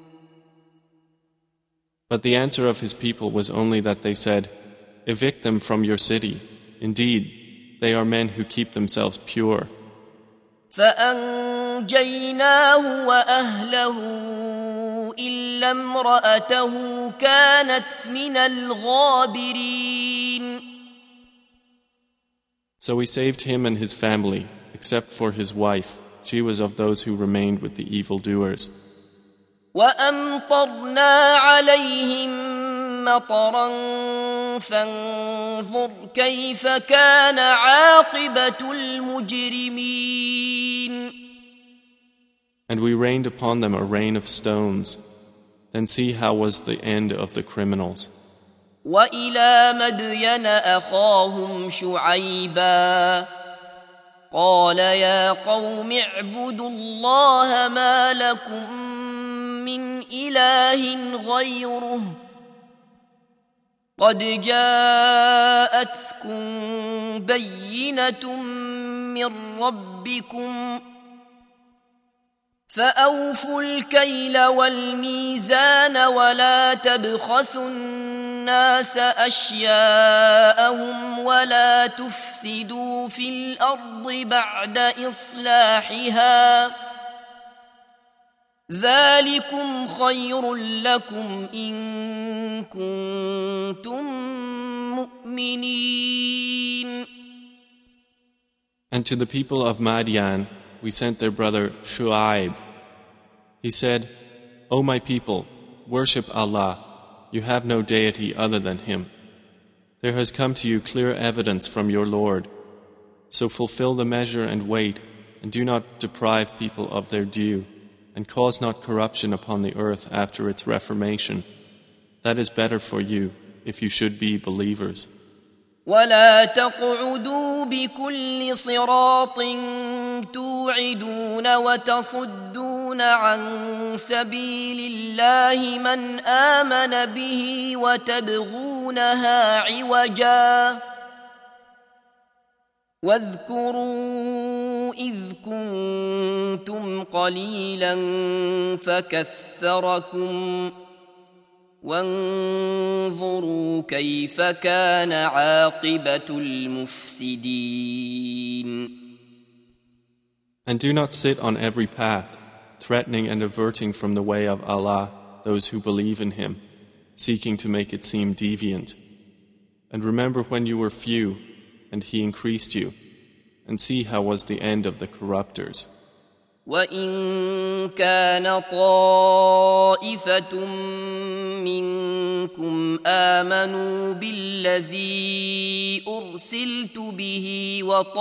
But the answer of his people was only that they said, Evict them from your city. Indeed, they are men who keep themselves pure. فأنجيناه وأهله إلا امرأته كانت من الغابرين. So we saved him and his family, except for his wife. She was of those who remained with the evildoers. وأمطرنا عليهم مطرا فانظر كيف كان عاقبة المجرمين. And we rained upon them a rain of stones. Then see how was the end of the criminals. وإلى مدين أخاهم شعيبا قال يا قوم اعبدوا الله ما لكم من إله غيره قد جاءتكم بينة من ربكم فأوفوا الكيل والميزان ولا تبخسوا الناس أشياءهم ولا تفسدوا في الأرض بعد إصلاحها ذلكم خير لكم إن كنتم مؤمنين. And to the people of Madian we sent their brother Shu'aib. He said, O my people, worship Allah. You have no deity other than Him. There has come to you clear evidence from your Lord. So fulfill the measure and weight, and do not deprive people of their due, and cause not corruption upon the earth after its reformation. That is better for you, if you should be believers. ولا تقعدوا بكل صراط توعدون وتصدون عن سبيل الله من آمن به وتبغونها عوجا واذكروا إذ كنتم قليلا فكثركم وانظروا كيف كان عاقبة المفسدين. And do not sit on every path, threatening and averting from the way of Allah those who believe in Him, seeking to make it seem deviant. And remember when you were few, and He increased you, and see how was the end of the corruptors. وَإِن كَانَ طَائِفَةٌ مِّنكُمْ آمَنُوا بِالَّذِي أُرْسِلْتُ بِهِ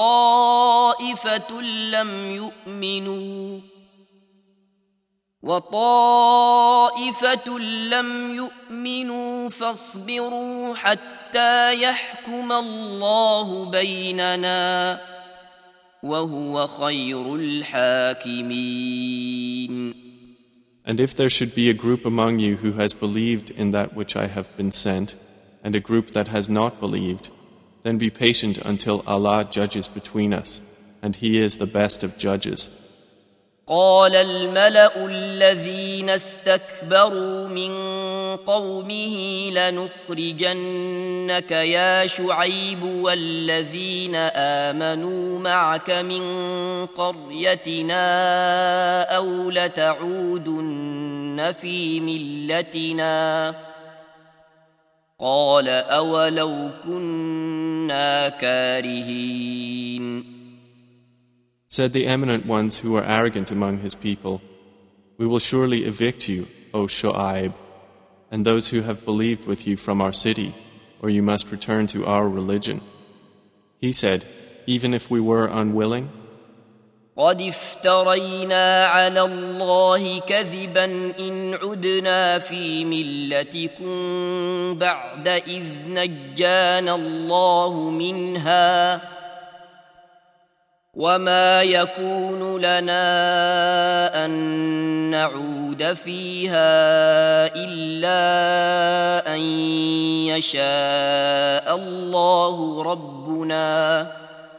وَطَائِفَةٌ لَّمْ يُؤْمِنُوا فَاصْبِرُوا حَتَّى يَحْكُمَ اللَّهُ بَيْنَنَا وَهُوَ خَيْرُ الْحَاكِمِينَ. And if there should be a group among you who has believed in that which I have been sent, and a group that has not believed, then be patient until Allah judges between us, and He is the best of judges. قال الملأ الذين استكبروا من قومه لنخرجنك يا شعيب والذين آمنوا معك من قريتنا أو لتعودن في ملتنا قال أولو كنا كارهين. Said the eminent ones who were arrogant among his people, We will surely evict you, O Shu'aib, and those who have believed with you from our city, or you must return to our religion. He said, Even if we were unwilling, قد افترينا على الله كذبا إن عدنا في ملتكم بعد إذ نجانا الله منها وما يكون لنا أن نعود فيها إلا أن يشاء الله ربنا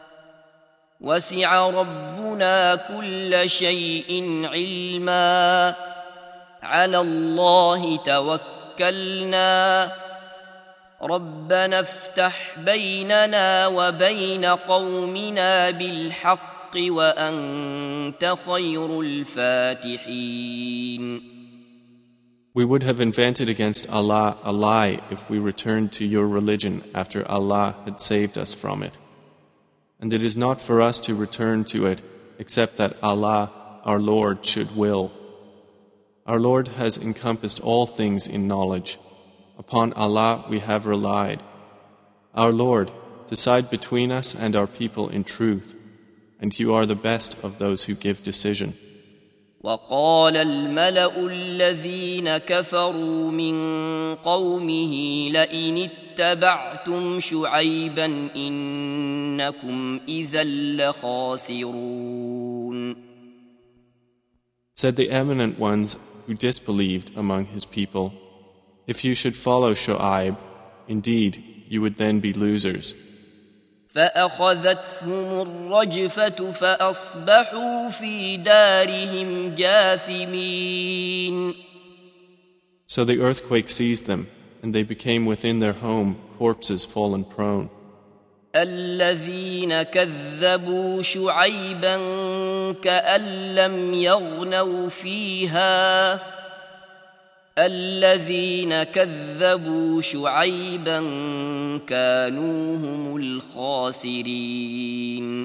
وسع ربنا كل شيء علما على الله توكلنا ربنا افتح بيننا وبين قومنا بالحق وأنت خير الفاتحين. We would have invented against Allah a lie if we returned to your religion after Allah had saved us from it. And it is not for us to return to it except that Allah, our Lord, should will. Our Lord has encompassed all things in knowledge. Upon Allah we have relied. Our Lord, decide between us and our people in truth, and you are the best of those who give decision. وقال الملأ الذين كفروا من قومه لئن اتبعتم شعيبا إنكم إذا لخاسرون. Said the eminent ones who disbelieved among his people, If you should follow Shu'aib, indeed you would then be losers. فأخذتهم الرجفة فأصبحوا في دارهم جاثمين. So the earthquake seized them, and they became within their home corpses fallen prone. الذين كذبوا شعيبا كأن لم يغنوا فيها الذين كذبوا شعيبا كانوا هم الخاسرين.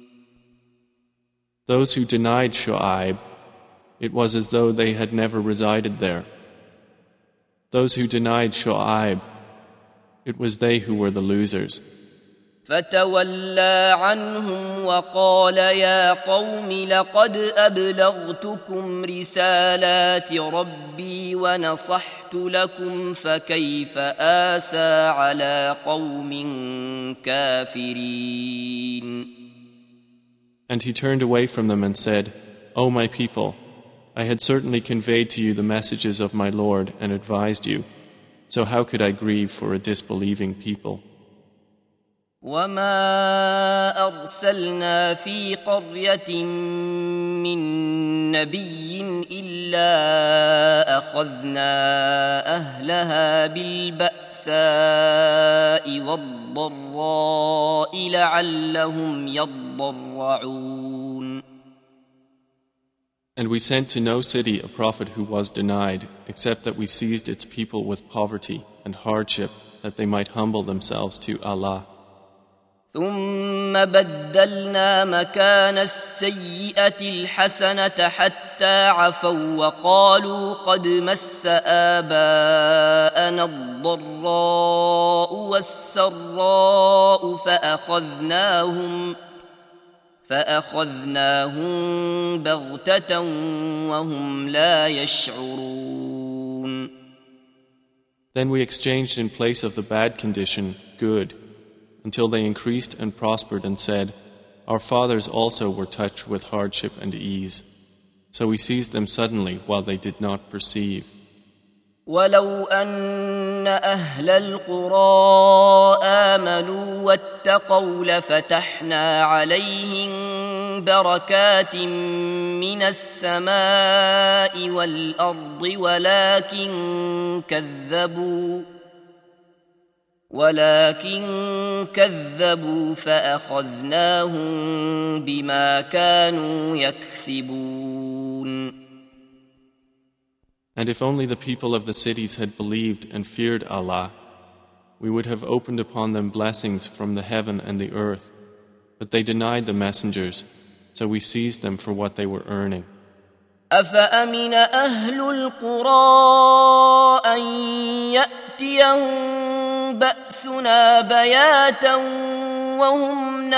Those who denied Shu'aib, it was as though they had never resided there. Those who denied Shu'aib, it was they who were the losers. فتولى عنهم وقال يا قوم لقد أبلغتكم رسالات ربي ونصحت لكم فكيف آسى على قوم كافرين. And he turned away from them and said, O my people, I had certainly conveyed to you the messages of my Lord and advised you, so how could I grieve for a disbelieving people? وما أرسلنا في قرية من نبي إلا أخذنا أهلها بالبأساء والضراء لعلهم يضرعون. And we sent to no city a prophet who was denied, except that we seized its people with poverty and hardship, that they might humble themselves to Allah. ثم بدلنا مكان السيئة الحسنة حتى عفوا وقالوا قد مس آباءنا الضراء والسراء فأخذناهم بغتة وهم لا يشعرون. Then we exchanged in place of the bad condition good, until they increased and prospered and said, Our fathers also were touched with hardship and ease. So we seized them suddenly while they did not perceive. ولو أن أهل القرى آمنوا واتقوا لفتحنا عليهم بركات من السماء والأرض ولكن كذبوا فأخذناهم بما كانوا يكسبون. And if only the people of the cities had believed and feared Allah, we would have opened upon them blessings from the heaven and the earth. But they denied the messengers, so we seized them for what they were earning. أفأمن أهل القرى أن يأتيهم بأسنا بياتا وهم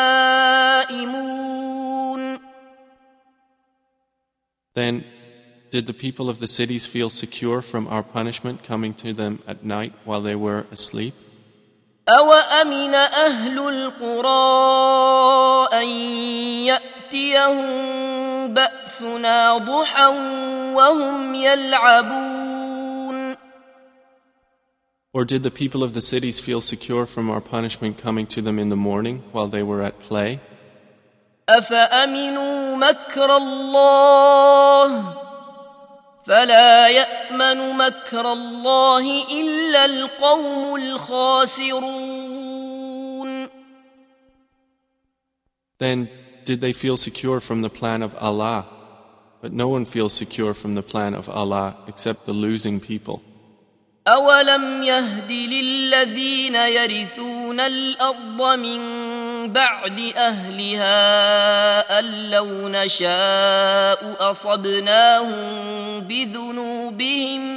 نائمون. Then, did the people of the cities feel secure from our punishment coming to them at night while they were asleep? أوأمن أهل القرى أن يأتيهم بأسنا ضحى وهم يلعبون. Or did the people of the cities feel secure from our punishment coming to them in the morning while they were at play? أفأمنوا مكر الله فلا يأمن مكر الله إلا القوم الخاسرون. Then did they feel secure from the plan of Allah? But no one feels secure from the plan of Allah except the losing people. أولم يهد للذين يرثون الأرض من بعد أهلها أن لو نشاء أصبناهم بذنوبهم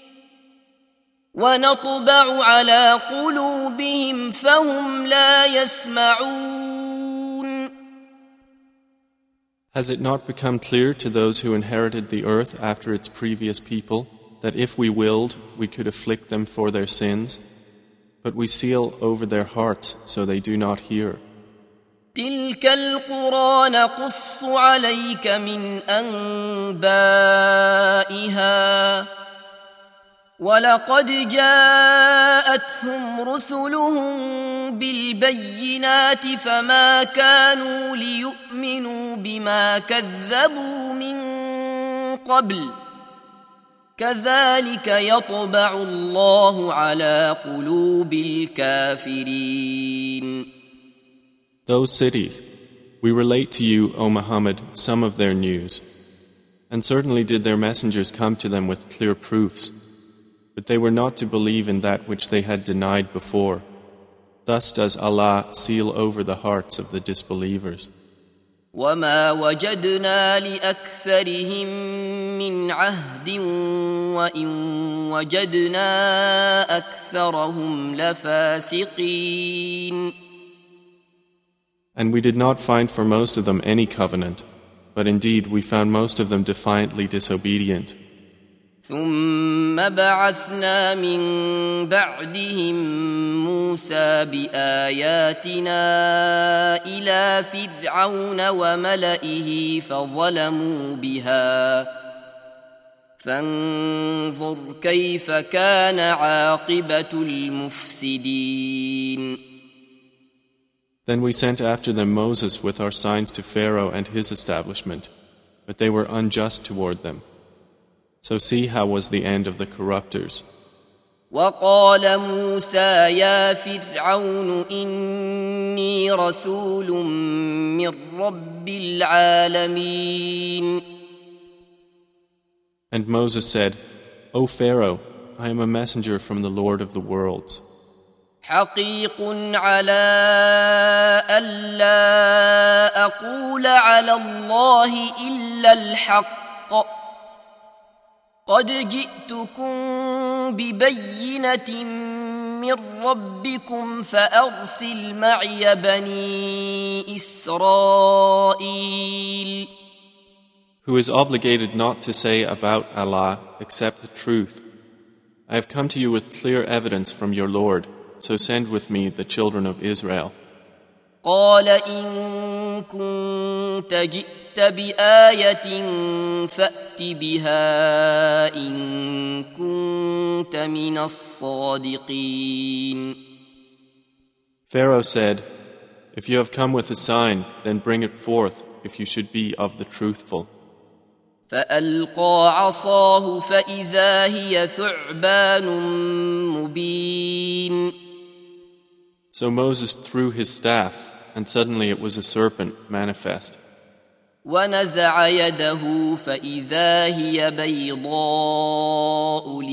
ونطبع على قلوبهم فهم لا يسمعون. Has it not become clear to those who inherited the earth after its previous people that if we willed, we could afflict them for their sins? But we seal over their hearts so they do not hear. تلك القرى نقص عليك من أنبائها ولقد جاءتهم رسلهم بالبينات فما كانوا ليؤمنوا بما كذبوا من قبل كذلك يطبع الله على قلوب الكافرين. Those cities, we relate to you, O Muhammad, some of their news. And certainly did their messengers come to them with clear proofs, but they were not to believe in that which they had denied before. Thus does Allah seal over the hearts of the disbelievers. وما وجدنا لأكثرهم من عهد وإن وجدنا أكثرهم لفاسقين. And we did not find for most of them any covenant, but indeed we found most of them defiantly disobedient. ثم بعثنا من بعدهم موسى بآياتنا إلى فرعون وملئه فظلموا بها فانظر كيف كان عاقبة المفسدين. Then we sent after them Moses with our signs to Pharaoh and his establishment, but they were unjust toward them. So see how was the end of the corruptors. وقال موسى يا فرعون إني رسول من رب العالمين. And Moses said, O Pharaoh, I am a messenger from the Lord of the worlds. حقيق على ألا أقول على الله إلا الحق قد جئتكم ببينة من ربكم فأرسل معي بني إسرائيل. Who is obligated not to say about Allah except the truth. I have come to you with clear evidence from your Lord, so send with me the children of Israel. قال إن كنت جئت بآية فأت بها إن كنت من الصادقين. Pharaoh said, If you have come with a sign, then bring it forth if you should be of the truthful. فألقى عصاه فإذا هي ثعبان مبين. So Moses threw his staff, and suddenly it was a serpent manifest. ونزع يده فإذا هي بيضاء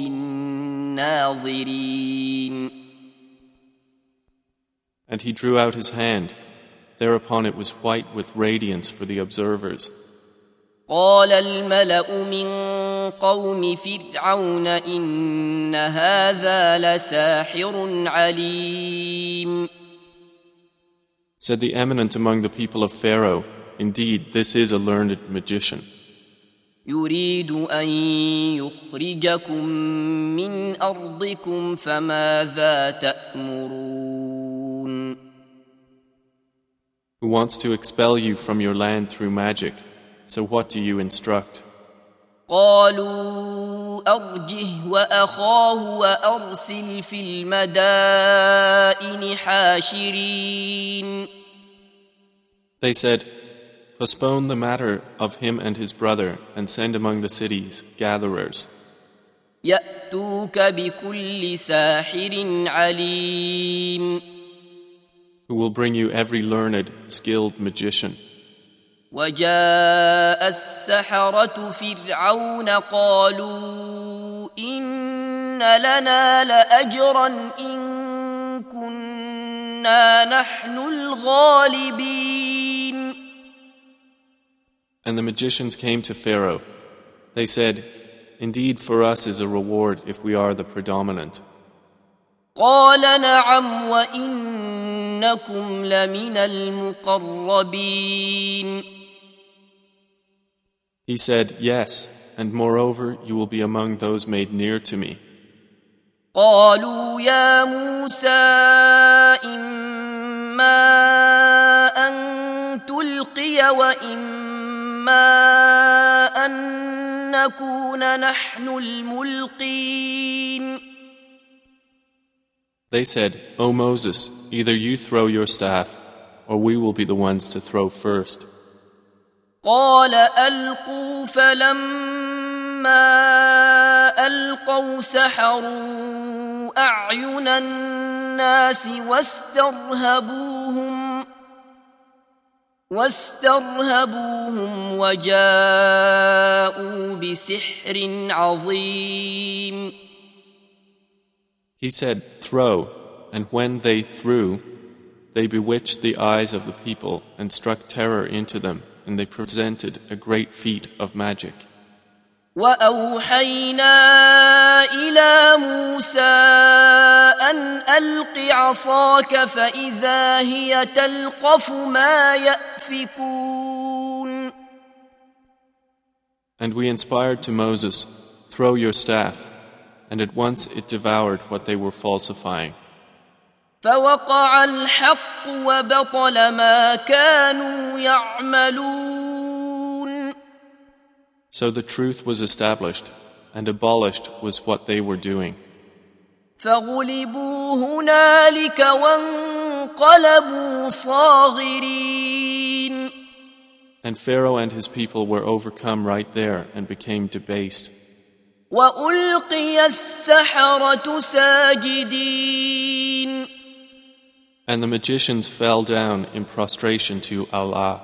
للناظرين. And he drew out his hand. Thereupon it was white with radiance for the observers. قال الملأ من قوم فرعون إن هذا لساحر عليم. Said the eminent among the people of Pharaoh, Indeed, this is a learned magician. يريد أن يخرجكم من أرضكم فماذا تأمرون. Who wants to expel you from your land through magic. So what do you instruct? قالوا أرجه وأخاه وأرسل في المدائن حاشرين. They said, Postpone the matter of him and his brother and send among the cities gatherers. يأتوك بكل ساحر عليم. Who will bring you every learned, skilled magician. وجاء السحرة فرعون قالوا إن لنا لأجرا إن كنا نحن الغالبين. And the magicians came to Pharaoh. They said, Indeed, for us is a reward if we are the predominant. قال نعم وإنكم لمن المقربين. He said, Yes, and moreover, you will be among those made near to me. قالوا يا موسى إما أن تلقي وإما أن نكون نحن الملقين. They said, O Moses, either you throw your staff, or we will be the ones to throw first. قال ألقوا فلما ألقوا سحروا أعين الناس واسترهبوهم وجاءوا بسحر عظيم. He said, throw, and when they threw, they bewitched the eyes of the people and struck terror into them, and they presented a great feat of magic. وأوحينا إلى موسى أن ألق عصاك فإذا هي تلقف ما يأفكون. And we inspired to Moses, throw your staff, and at once it devoured what they were falsifying. فوقع الحق وبطل ما كانوا يعملون. So the truth was established, and abolished was what they were doing. فغلبوا هنالك وانقلبوا صاغرين. And Pharaoh and his people were overcome right there and became debased. وألقي السحرة ساجدين. And the magicians fell down in prostration to Allah.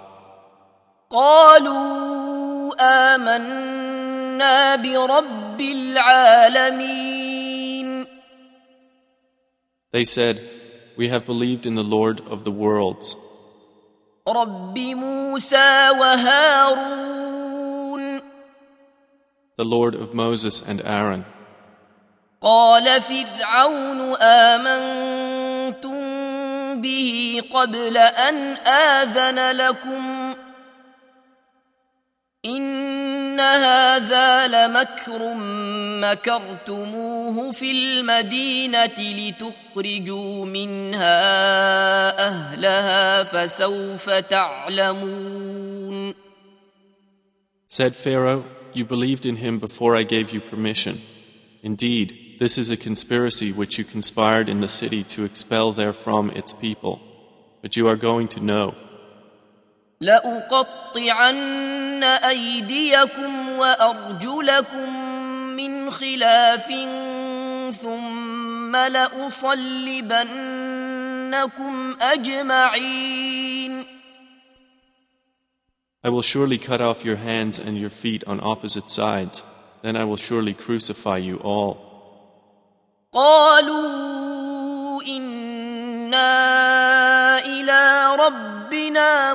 قالوا آمنا برب العالمين. They said, we have believed in the Lord of the worlds, رب موسى وهارون. the Lord of Moses and Aaron. قال فرعون آمنتم به قبل أن آذن لكم إن هذا لمكر مكرتموه في المدينة لتخرجوا منها أهلها فسوف تعلمون. Said Pharaoh, you believed in him before I gave you permission. Indeed, this is a conspiracy which you conspired in the city to expel therefrom its people. But you are going to know. لأقطعن أيديكم وأرجلكم من خلاف ثم لأصلبنكم أجمعين. I will surely cut off your hands and your feet on opposite sides. Then I will surely crucify you all. قالوا إنا إلى ربنا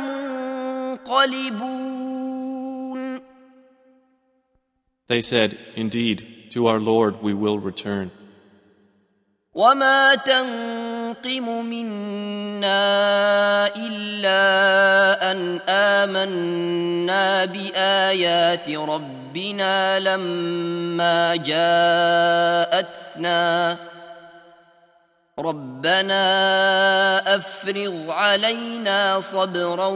منقلبون. They said, indeed, to our Lord we will return. وما تنقم منا إلا أن آمنا بآيات ربنا لما جاءتنا ربنا أفرغ علينا صبرا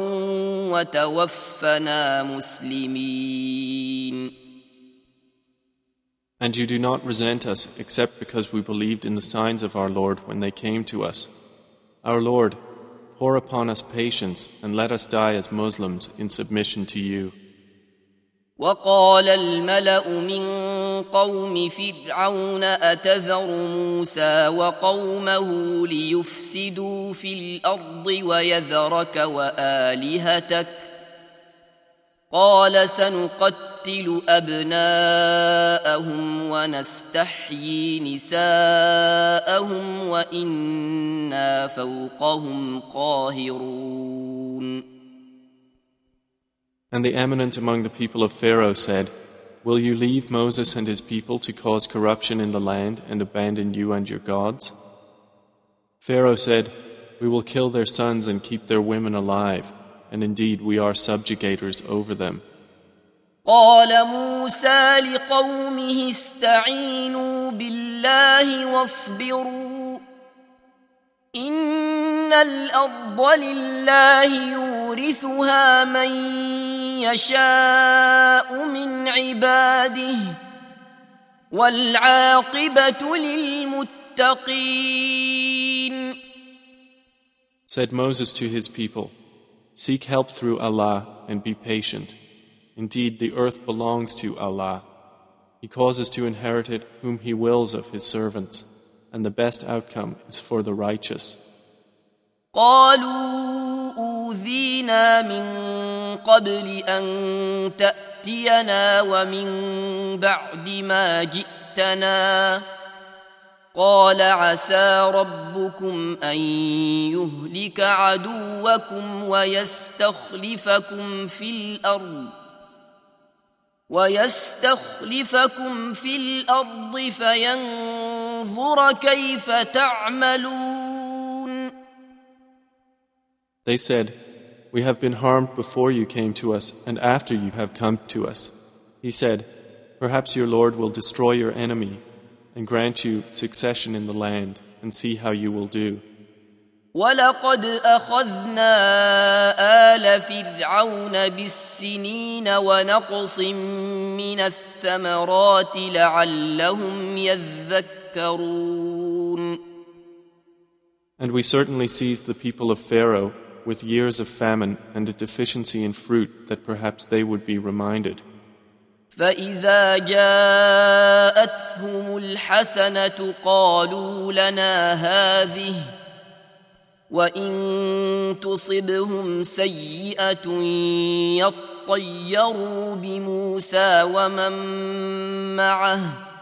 وتوفنا مسلمين. And you do not resent us except because we believed in the signs of our Lord when they came to us. Our Lord, pour upon us patience and let us die as Muslims in submission to you. وقال الملأ من قوم فرعون أتذر موسى وقومه ليفسدوا في الأرض ويذرك وآلهتك قال سنقتل أبناءهم ونستحيي نساءهم وإنا فوقهم قاهرون. And the eminent among the people of Pharaoh said, will you leave Moses and his people to cause corruption in the land and abandon you and your gods? Pharaoh said, we will kill their sons and keep their women alive, and indeed we are subjugators over them. قال موسى لقومه استعينوا بالله واصبروا إن الأرض لله يورثها من يشاء من عباده والعاقبة للمتقين. Said Moses to his people, "Seek help through Allah and be patient. Indeed, the earth belongs to Allah. He causes to inherit it whom He wills of His servants, and the best outcome is for the righteous." قالوا أوذينا من قبل أن تأتينا ومن بعد ما جئتنا قال عسى ربكم أن يهلك عدوكم ويستخلفكم في الأرض فينظر كيف تعملون. They said, "We have been harmed before you came to us and after you have come to us." He said, "Perhaps your Lord will destroy your enemy and grant you succession in the land and see how you will do." وَلَقَدْ أَخَذْنَا آلَ فِرْعَوْنَ بِالسِّنِينَ وَنَقْصٍ مِّنَ الثَّمَرَاتِ لَعَلَّهُمْ يَذَّكَّرُونَ. And we certainly seized the people of Pharaoh with years of famine and a deficiency in fruit that perhaps they would be reminded. فَإِذَا جَاءَتْهُمُ الْحَسَنَةُ قَالُوا لَنَا هَذِهِ وَإِن تُصِبْهُمْ سَيِّئَةٌ يَطَّيَّرُوا بِمُوسَى وَمَن مَّعَهُ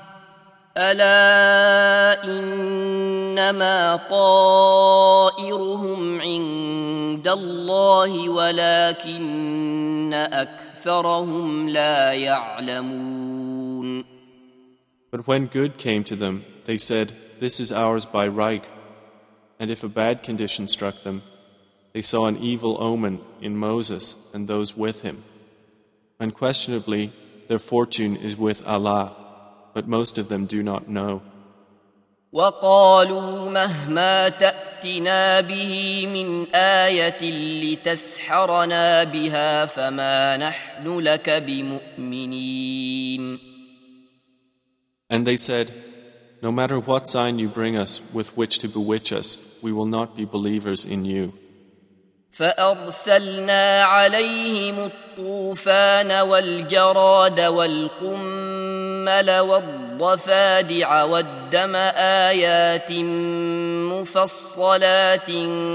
أَلَا إِنَّمَا طَائِرُهُمْ عِندَ اللَّهِ وَلَكِنَّ أَكْثَرَهُمْ لَا يَعْلَمُونَ. But when good came to them, they said, "This is ours by right." And if a bad condition struck them, they saw an evil omen in Moses and those with him. Unquestionably, their fortune is with Allah, but most of them do not know. وَقَالُوا مَهْمَا تَأْتِنَا بِهِ مِنْ آيَةٍ لِتَسْحَرَنَا بِهَا فَمَا نَحْنُ لَكَ بِمُؤْمِنِينَ. And they said, "No matter what sign you bring us with which to bewitch us, we will not be believers in you." فَأَرْسَلْنَا عَلَيْهِمُ الطُّوفَانَ وَالْجَرَادَ وَالْقُمَّلَ وَالضَّفَادِعَ وَالدَّمَ آيَاتٍ مُفَصَّلَاتٍ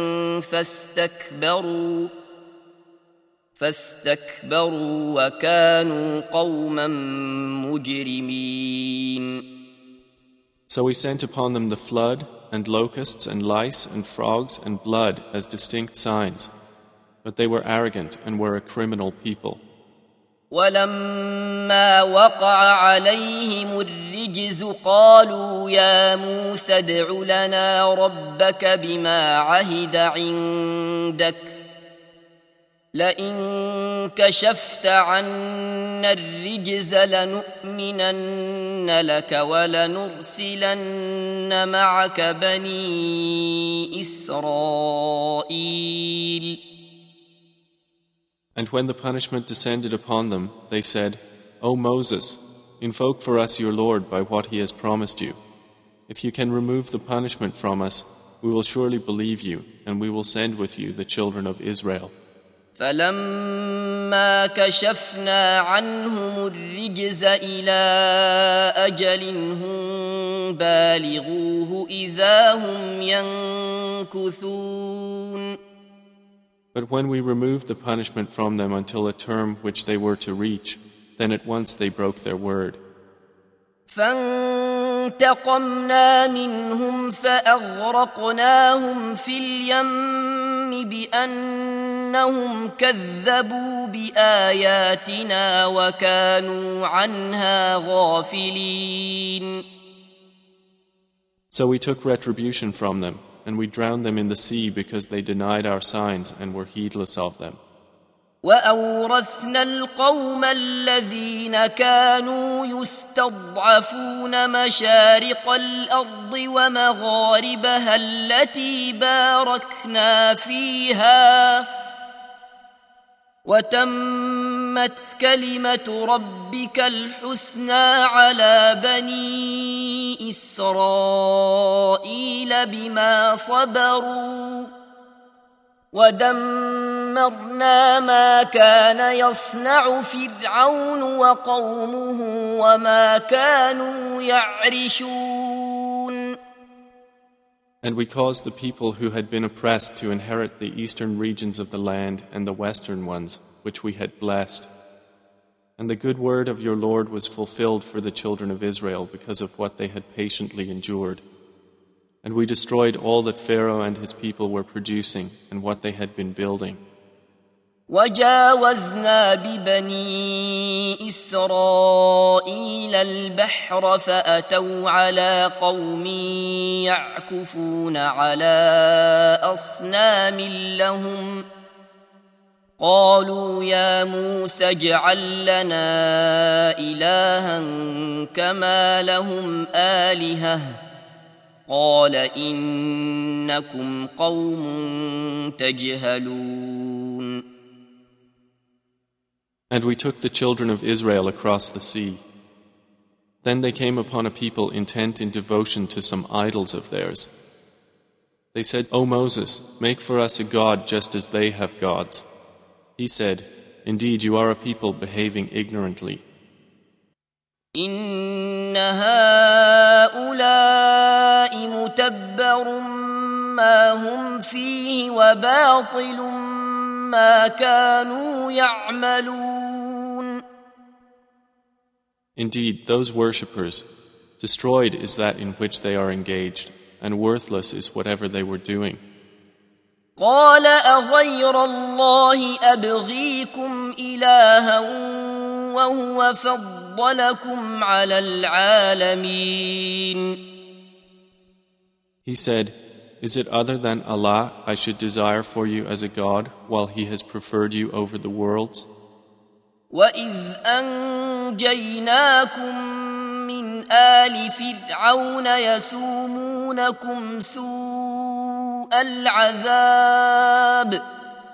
فَاسْتَكْبَرُوا وَكَانُوا قَوْمًا مُجْرِمِينَ. So we sent upon them the flood, and locusts, and lice, and frogs, and blood as distinct signs. But they were arrogant and were a criminal people. وَلَمَّا وَقَعَ عَلَيْهِمُ الرِّجْزُ قَالُوا يَا مُوسَى ادْعُ لَنَا رَبَّكَ بِمَا عَهِدَ عِندَكَ لَئِن كَشَفْتَ عَنَّا الرِّجْزَ لَنُؤْمِنَنَّ لَكَ وَلَنُرْسِلَنَّ مَعَكَ بَنِي إِسْرَائِيلَ. And when the punishment descended upon them, they said, "O Moses, invoke for us your Lord by what He has promised you. If you can remove the punishment from us, we will surely believe you, and we will send with you the children of Israel." فَلَمَّا كَشَفْنَا عَنْهُمُ الرِّجْزَ إِلَىٰ أَجَلٍ هُمْ بَالِغُوهُ إِذَا هُمْ يَنكُثُونَ. But when we removed the punishment from them until a term which they were to reach, then at once they broke their word. فَانْتَقَمْنَا مِنْهُمْ فَأَغْرَقْنَاهُمْ فِي الْيَمِّ بِأَنَّهُمْ كَذَّبُوا بِآيَاتِنَا وَكَانُوا عَنْهَا غَافِلِينَ. So we took retribution from them, and we drowned them in the sea because they denied our signs and were heedless of them. وَأَوْرَثْنَا الْقَوْمَ الَّذِينَ كَانُوا يُسْتَضْعَفُونَ مَشَارِقَ الْأَرْضِ وَمَغَارِبَهَا الَّتِي بَارَكْنَا فِيهَا وتمت كلمة ربك الحسنى على بني إسرائيل بما صبروا ودمرنا ما كان يصنع فرعون وقومه وما كانوا يعرشون. And we caused the people who had been oppressed to inherit the eastern regions of the land and the western ones, which we had blessed. And the good word of your Lord was fulfilled for the children of Israel because of what they had patiently endured. And we destroyed all that Pharaoh and his people were producing and what they had been building. وجاوزنا ببني إسرائيل البحر فأتوا على قوم يعكفون على أصنام لهم قالوا يا موسى اجعل لنا إلها كما لهم آلهة قال إنكم قوم تجهلون. And we took the children of Israel across the sea. Then they came upon a people intent in devotion to some idols of theirs. They said, O Moses, make for us a god just as they have gods. He said, Indeed, you are a people behaving ignorantly. إن هؤلاء متبر ما هم فيه وباطل ما كانوا يعملون. Indeed, those worshippers, destroyed is that in which they are engaged, and worthless is whatever they were doing. قال أغير الله أبغيكم إلها وهو فضلكم على العالمين. He said, Is it other than Allah I should desire for you as a God while He has preferred you over the worlds? وَإِذْ أَنْجَيْنَاكُمْ مِنْ آلِ فِرْعَوْنَ يَسُومُونَكُمْ سُوءَ الْعَذَابِ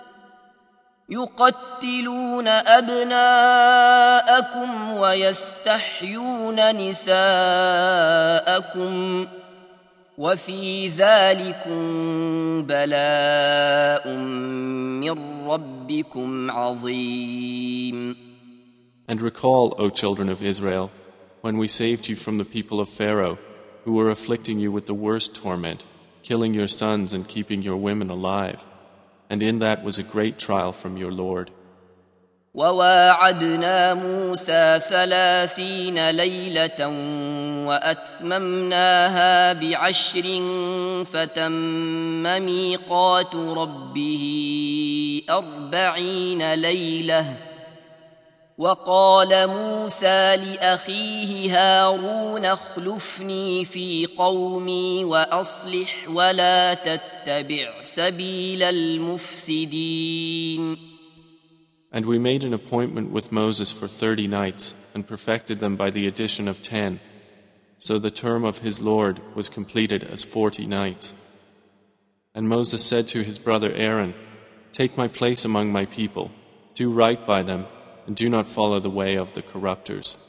يُقَتِّلُونَ أَبْنَاءَكُمْ وَيَسْتَحْيُونَ نِسَاءَكُمْ وَفِي ذَلِكُمْ بَلَاءٌ مِّن رَّبِّكُمْ عَظِيمٌ. And recall, O children of Israel, when we saved you from the people of Pharaoh, who were afflicting you with the worst torment, killing your sons and keeping your women alive. And in that was a great trial from your Lord. وواعدنا موسى 30 ليلة وأتممناها ب10 فتم ميقات ربه 40 ليلة وقال موسى لأخيه هارون اخلفني في قومي وأصلح ولا تتبع سبيل المفسدين. And we made an appointment with Moses for 30 nights and perfected them by the addition of 10. So the term of his Lord was completed as 40 nights. And Moses said to his brother Aaron, Take my place among my people, do right by them, and do not follow the way of the corruptors.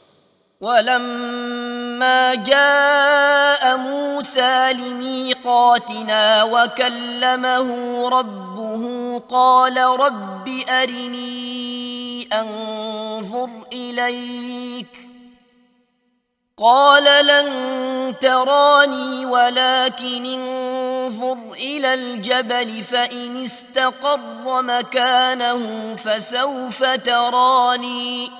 ولما جاء موسى لميقاتنا وكلمه ربه قال رب أرني أنظر إليك قال لن تراني ولكن انظر إلى الجبل فإن استقر مكانه فسوف تراني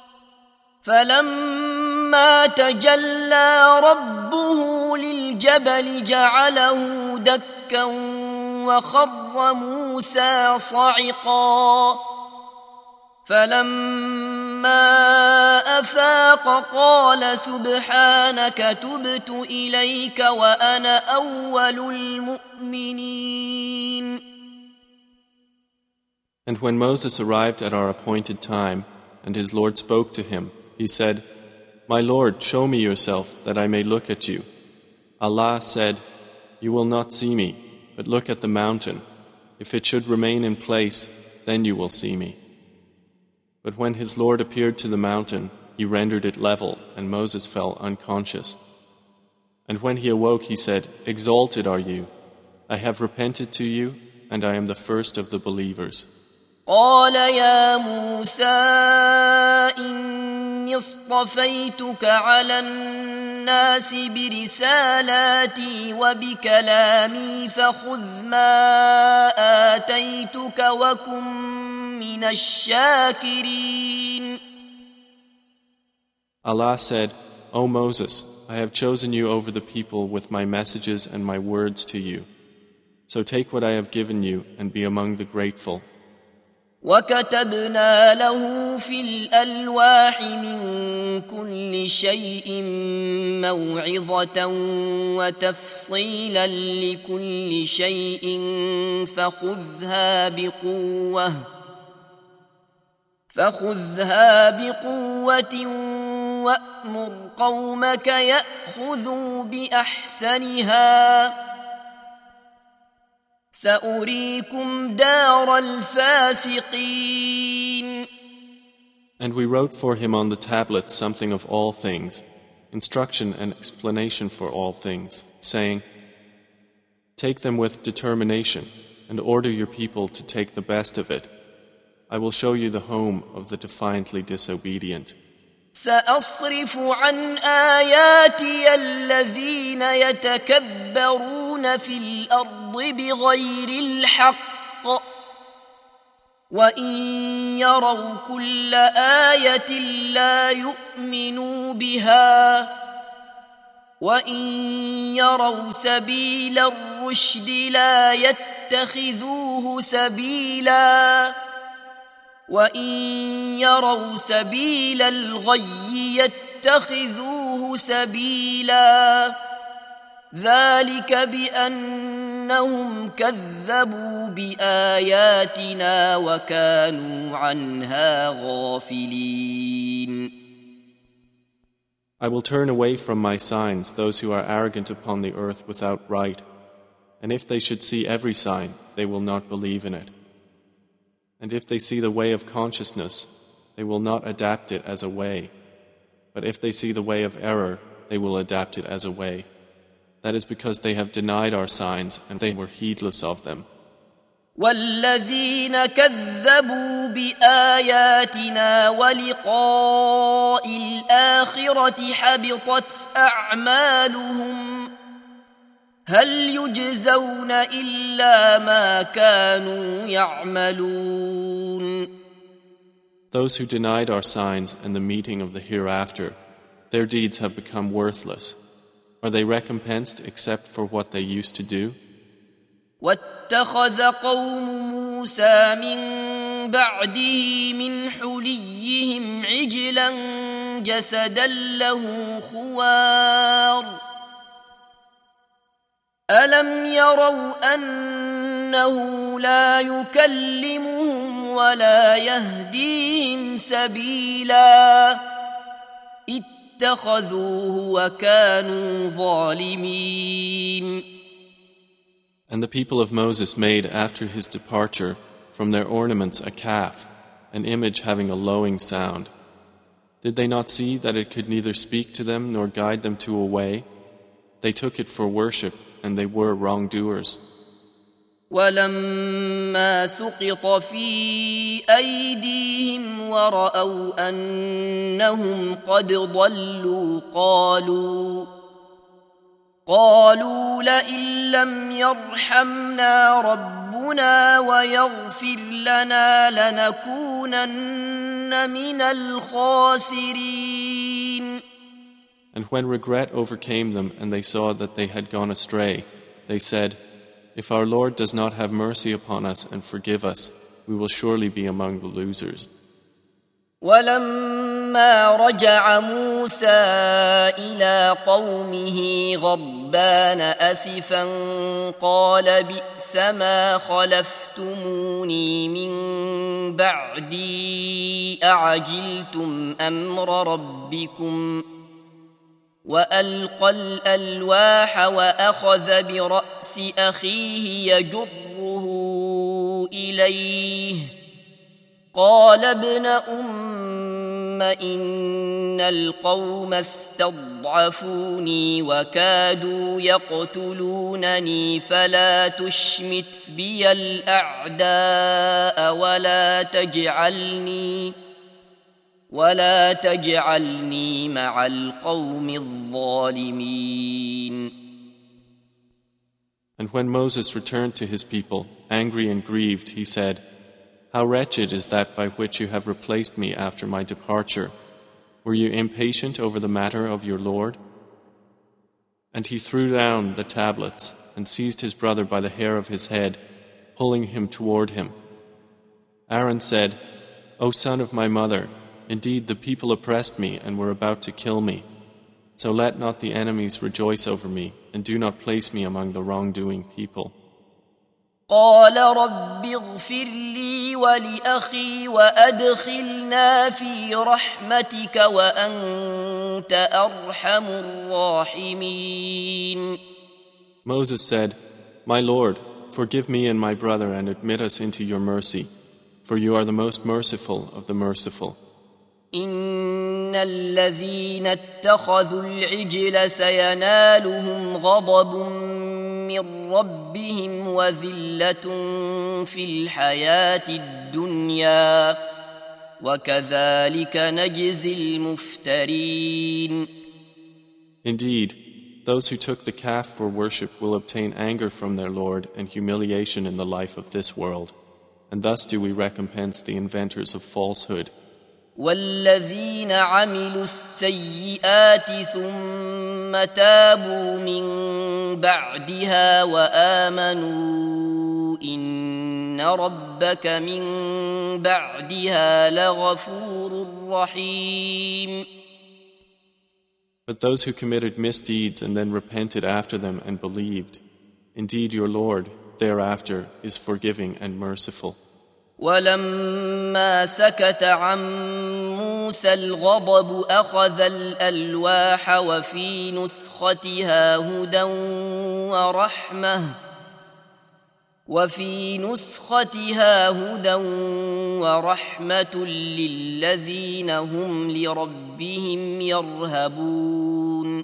فلما تجلى ربه للجبل جعله دكا وخر موسى صعقا فلما أفاق قال سبحانك تبت إليك وأنا أول المؤمنين. And when Moses arrived at our appointed time and his Lord spoke to him, he said, My Lord, show me yourself, that I may look at you. Allah said, You will not see me, but look at the mountain. If it should remain in place, then you will see me. But when his Lord appeared to the mountain, he rendered it level, and Moses fell unconscious. And when he awoke, he said, "Exalted are you. I have repented to you, and I am the first of the believers." قال يا موسى إني اصطفيتك على الناس برسالاتي وبكلامي فخذ ما آتيتك وكن من الشاكرين. Allah said, "O Moses, I have chosen you over the people with my messages and my words to you. So take what I have given you and be among the grateful." وكتبنا له في الألواح من كل شيء موعظة وتفصيلا لكل شيء فخذها بقوة وأمر قومك يأخذوا بأحسنها سأريكم دار الفاسقين. And we wrote for him on the tablets something of all things, instruction and explanation for all things, saying, "Take them with determination and order your people to take the best of it. I will show you the home of the defiantly disobedient." سأصرف عن آياتي الذين يتكبرون في الأرض بغير الحق وإن يروا كل آية لا يؤمنوا بها وإن يروا سبيل الرشد لا يتخذوه سبيلا وإن يروا سبيل الغي يتخذوه سبيلا ذلك بأنهم كذبوا بآياتنا وكانوا عنها غافلين. I will turn away from my signs those who are arrogant upon the earth without right, and if they should see every sign, they will not believe in it. And if they see the way of consciousness, they will not adapt it as a way. But if they see the way of error, they will adapt it as a way. That is because they have denied our signs and they were heedless of them. والذين كذبوا بآياتنا ولقاء الآخرة حبطت أعمالهم هل يجزون إلا ما كانوا يعملون. Those who denied our signs and the meeting of the hereafter, their deeds have become worthless. Are they recompensed except for what they used to do? واتخذ قوم موسى من بعده من حليهم عجلا جسدا له خوار ألم يروا أنه لا يكلمهم ولا يهديهم سبيلا اتخذوه وكانوا ظالمين. And the people of Moses made after his departure from their ornaments a calf, an image having a lowing sound. Did they not see that it could neither speak to them nor guide them to a way? They took it for worship, and they were wrongdoers. ولما سقط في أيديهم ورأوا أنهم قد ضلوا قالوا لئن لم يرحمنا ربنا ويغفر لنا لنكونن من الخاسرين. And when regret overcame them and they saw that they had gone astray, they said, "If our Lord does not have mercy upon us and forgive us, we will surely be among the losers." ولما رجع موسى إلى قومه غضبان أسفا قال بئس ما خلفتموني من بعدي أعجلتم أمر ربكم وألقى الألواح وأخذ برأس أخيه يجره إليه قال ابن إن القوم استضعفوني وكادوا يقتلونني فلا تشمت بي الأعداء ولا تجعلني مع القوم الظالمين. And when Moses returned to his people, angry and grieved, he said, "How wretched is that by which you have replaced me after my departure. Were you impatient over the matter of your Lord?" And he threw down the tablets and seized his brother by the hair of his head, pulling him toward him. Aaron said, "O son of my mother, indeed the people oppressed me and were about to kill me. So let not the enemies rejoice over me, and do not place me among the wrongdoing people." قال رب اغفر لي ولأخي وأدخلنا في رحمتك وأنت أرحم الراحمين. Moses said, "My Lord, forgive me and my brother and admit us into your mercy, for you are the most merciful of the merciful. إن الذين اتخذوا العجل سينالهم غضب من ربهم وذلة في الحياة الدنيا وكذلك نجزي المفترين. Indeed, those who took the calf for worship will obtain anger from their Lord and humiliation in the life of this world, and thus do we recompense the inventors of falsehood. والذين عملوا السيئات ثم تابوا من بعدها وآمنوا إن ربك من بعدها لغفور رحيم. But those who committed misdeeds and then repented after them and believed, indeed your Lord thereafter is forgiving and merciful. ولما سكت عن موسى الغضب أخذ الألواح وفي نسختها هدى ورحمة للذين هم لربهم يرهبون.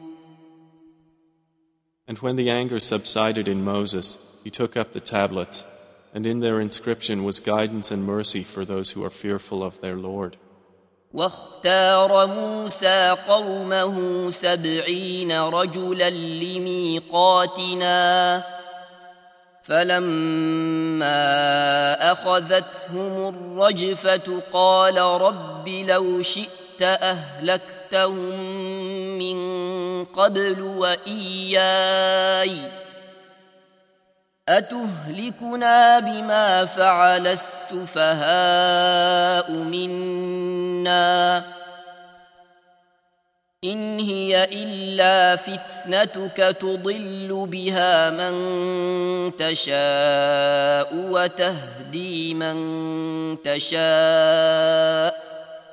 And when the anger subsided in Moses, he took up the tablets, and in their inscription was guidance and mercy for those who are fearful of their Lord. واختار موسى قومه 70 رجلا لميقاتنا فلما أخذتهم الرجفة قال رب لو شئت أهلكتهم من قبل وإياي أتهلكنا بما فعل السفهاء منا إن هي إلا فتنتك تضل بها من تشاء وتهدي من تشاء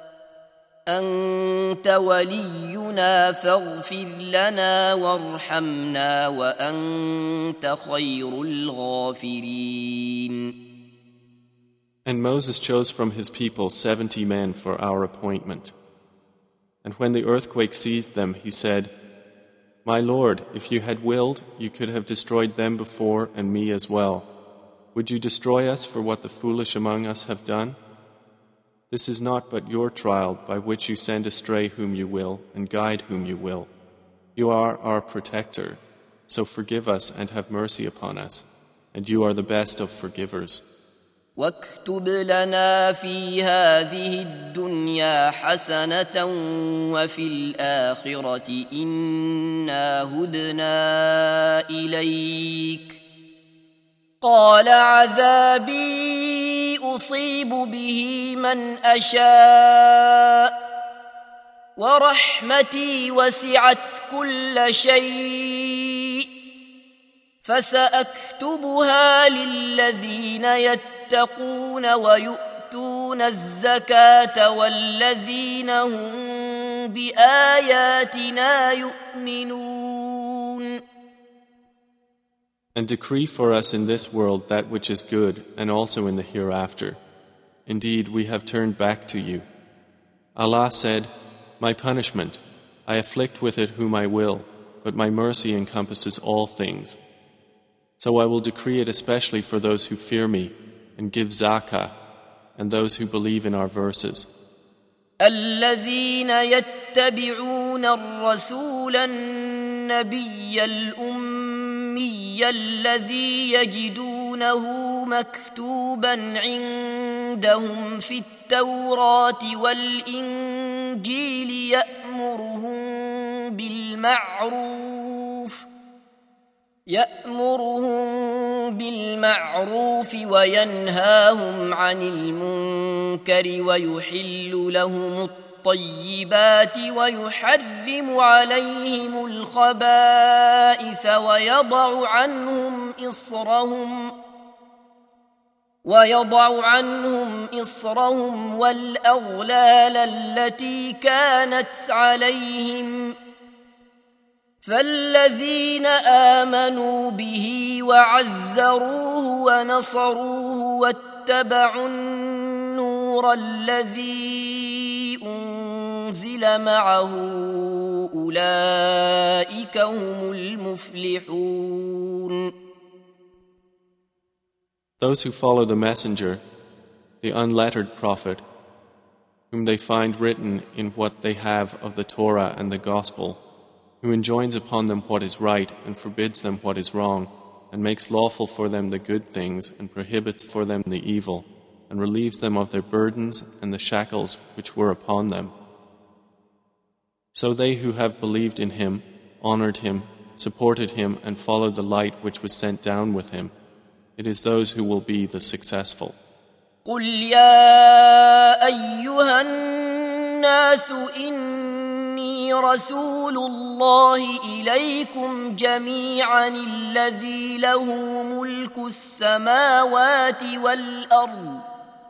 أنت ولينا فاغفر لنا وارحمنا وأنت خير الغافرين. And Moses chose from his people 70 men for our appointment. And when the earthquake seized them, he said, "My Lord, if you had willed, you could have destroyed them before and me as well. Would you destroy us for what the foolish among us have done? This is not but your trial by which you send astray whom you will and guide whom you will. You are our protector, so forgive us and have mercy upon us, and you are the best of forgivers." واكتب لنا في هذه الدنيا حسنة وفي الآخرة إنا هدنا إليك قال عذابي أصيب به من أشاء ورحمتي وسعت كل شيء فسأكتبها للذين يتقون ويؤتون الزكاة والذين هم بآياتنا يؤمنون. And decree for us in this world that which is good and also in the hereafter. Indeed, we have turned back to you. Allah said, My punishment, I afflict with it whom I will, but my mercy encompasses all things. So I will decree it especially for those who fear me and give zakah, and those who believe in our verses. الذين يتبعون الرسول النبي الأمي الذي يجدونه مكتوبا عندهم في التوراة والإنجيل يأمرهم بالمعروف وينهاهم عن المنكر ويحل لهم الطيبات ويحرم عليهم الخبائث ويضع عنهم إصرهم والأغلال التي كانت عليهم فالذين آمنوا به وعزروه ونصروه واتبعوا النور الذي أنزل معه أولئك هم المفلحون. Those who follow the messenger, the unlettered prophet, whom they find written in what they have of the Torah and the Gospel, who enjoins upon them what is right and forbids them what is wrong, and makes lawful for them the good things and prohibits for them the evil, and relieves them of their burdens and the shackles which were upon them. So they who have believed in him, honored him, supported him, and followed the light which was sent down with him, it is those who will be the successful. قل يا أيها الناس إني رسول الله إليكم جميعا الذي له ملك السماوات والأرض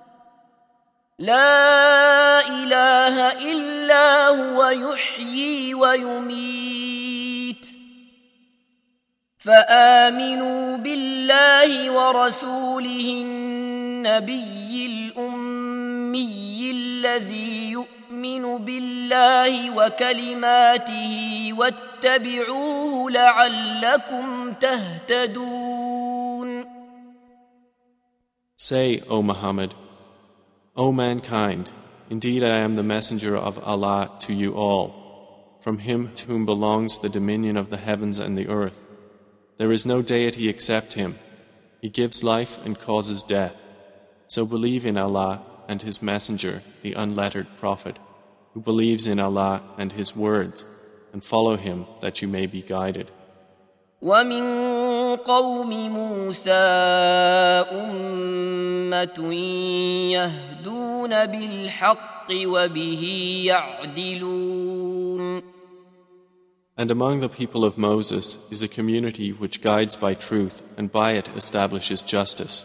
لا إله إلا هو يحيي ويميت فآمنوا بالله ورسوله النبي الأمي الذي يؤمن بالله وكلماته واتبعوه لعلكم تهتدون. Say, O Muhammad, O mankind, indeed I am the messenger of Allah to you all, from him to whom belongs the dominion of the heavens and the earth. There is no deity except him. He gives life and causes death. So believe in Allah and his messenger, the unlettered prophet, who believes in Allah and his words, and follow him that you may be guided. ومن قوم موسى أمة يهدون بالحق وبه يعدلون. And among the people of Moses is a community which guides by truth and by it establishes justice.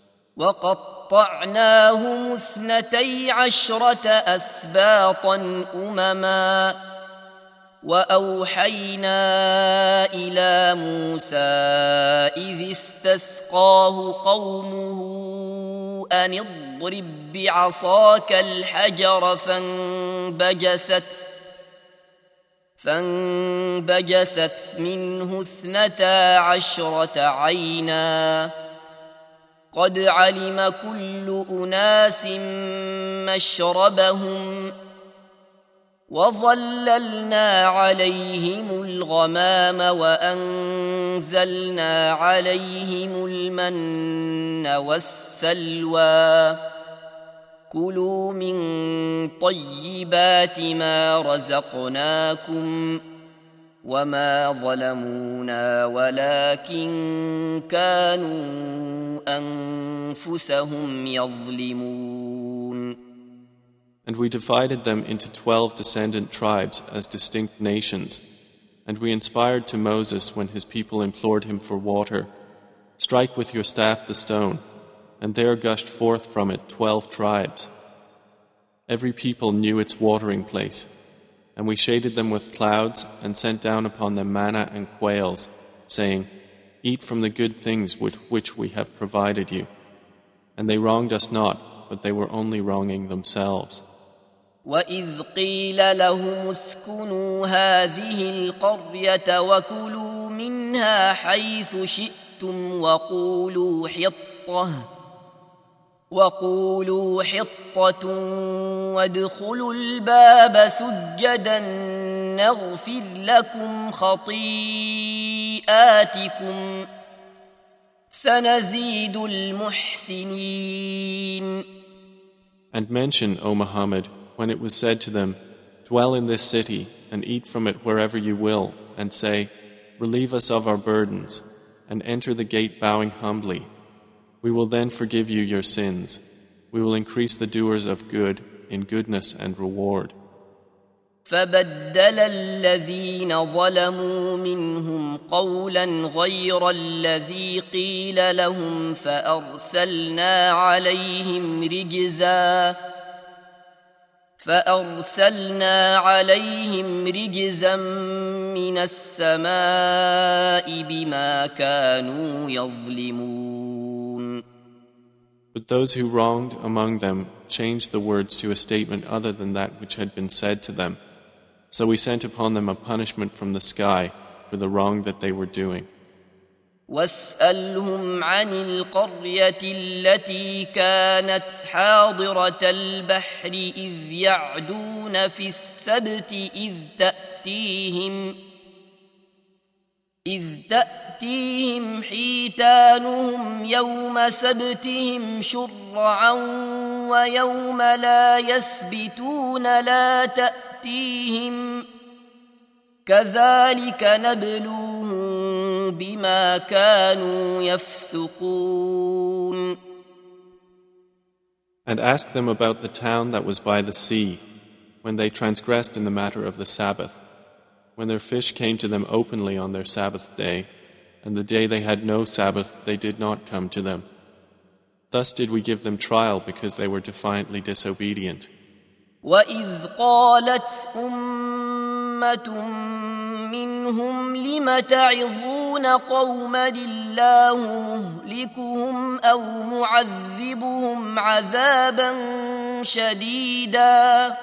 وقطعناهم 12 أسباطا أمما وأوحينا إلى موسى إذ استسقاه قومه أن اضرب بعصاك الحجر فانبجست منه 12 عينا قد علم كل أناس مشربهم وظللنا عليهم الغمام وأنزلنا عليهم المن والسلوى كلوا من طيبات ما رزقناكم وما ظلمونا ولكن كانوا أنفسهم يظلمون. And we divided them into 12 descendant tribes as distinct nations. And we inspired to Moses when his people implored him for water, "Strike with your staff the stone," and there gushed forth from it 12 tribes. Every people knew its watering place. And we shaded them with clouds and sent down upon them manna and quails, saying, "Eat from the good things with which we have provided you." And they wronged us not, but they were only wronging themselves. وَإِذْ قِيلَ لَهُمُ اسْكُنُوا هَٰذِهِ الْقَرْيَةَ وَكُلُوا مِنْهَا حَيْثُ شِئْتُمْ وَقُولُوا حِطَّةٌ وَادْخُلُوا الْبَابَ سُجَّدًا نَّغْفِرْ لَكُمْ خَطِيئَاتِكُمْ سَنَزِيدُ الْمُحْسِنِينَ. And mention, O Muhammad, when it was said to them, "Dwell in this city and eat from it wherever you will," and say, "Relieve us of our burdens," and enter the gate bowing humbly. We will then forgive you your sins. We will increase the doers of good in goodness and reward. فَبَدَّلَ الَّذِينَ ظَلَمُوا مِنْهُمْ قَوْلًا غَيْرَ الَّذِي قِيلَ لَهُمْ فَأَرْسَلْنَا عَلَيْهِمْ رِجْزًا مِّنَ السَّمَاءِ بِمَا كَانُوا يَظْلِمُونَ. But those who wronged among them changed the words to a statement other than that which had been said to them. So we sent upon them a punishment from the sky for the wrong that they were doing. وَاسْأَلْهُمْ عَنِ الْقَرْيَةِ الَّتِي كَانَتْ حَاضِرَةَ الْبَحْرِ إِذْ يَعْدُونَ فِي السَّبْتِ إذ تأتيهم حيتانهم يوم سبتهم شرعا ويوم لا يسبتون لا تأتيهم كذلك نبلوهم بما كانوا يفسقون. And ask them about the town that was by the sea, when they transgressed in the matter of the Sabbath, when their fish came to them openly on their Sabbath day, and the day they had no Sabbath they did not come to them. Thus did we give them trial because they were defiantly disobedient. وَإِذْ قَالَتْ أُمَّةٌ مِّنْهُمْ لِمَ تَعِظُونَ قَوْمًا اللَّهُ مُهْلِكُهُمْ أَوْ مُعَذِّبُهُمْ عَذَابًا شَدِيدًا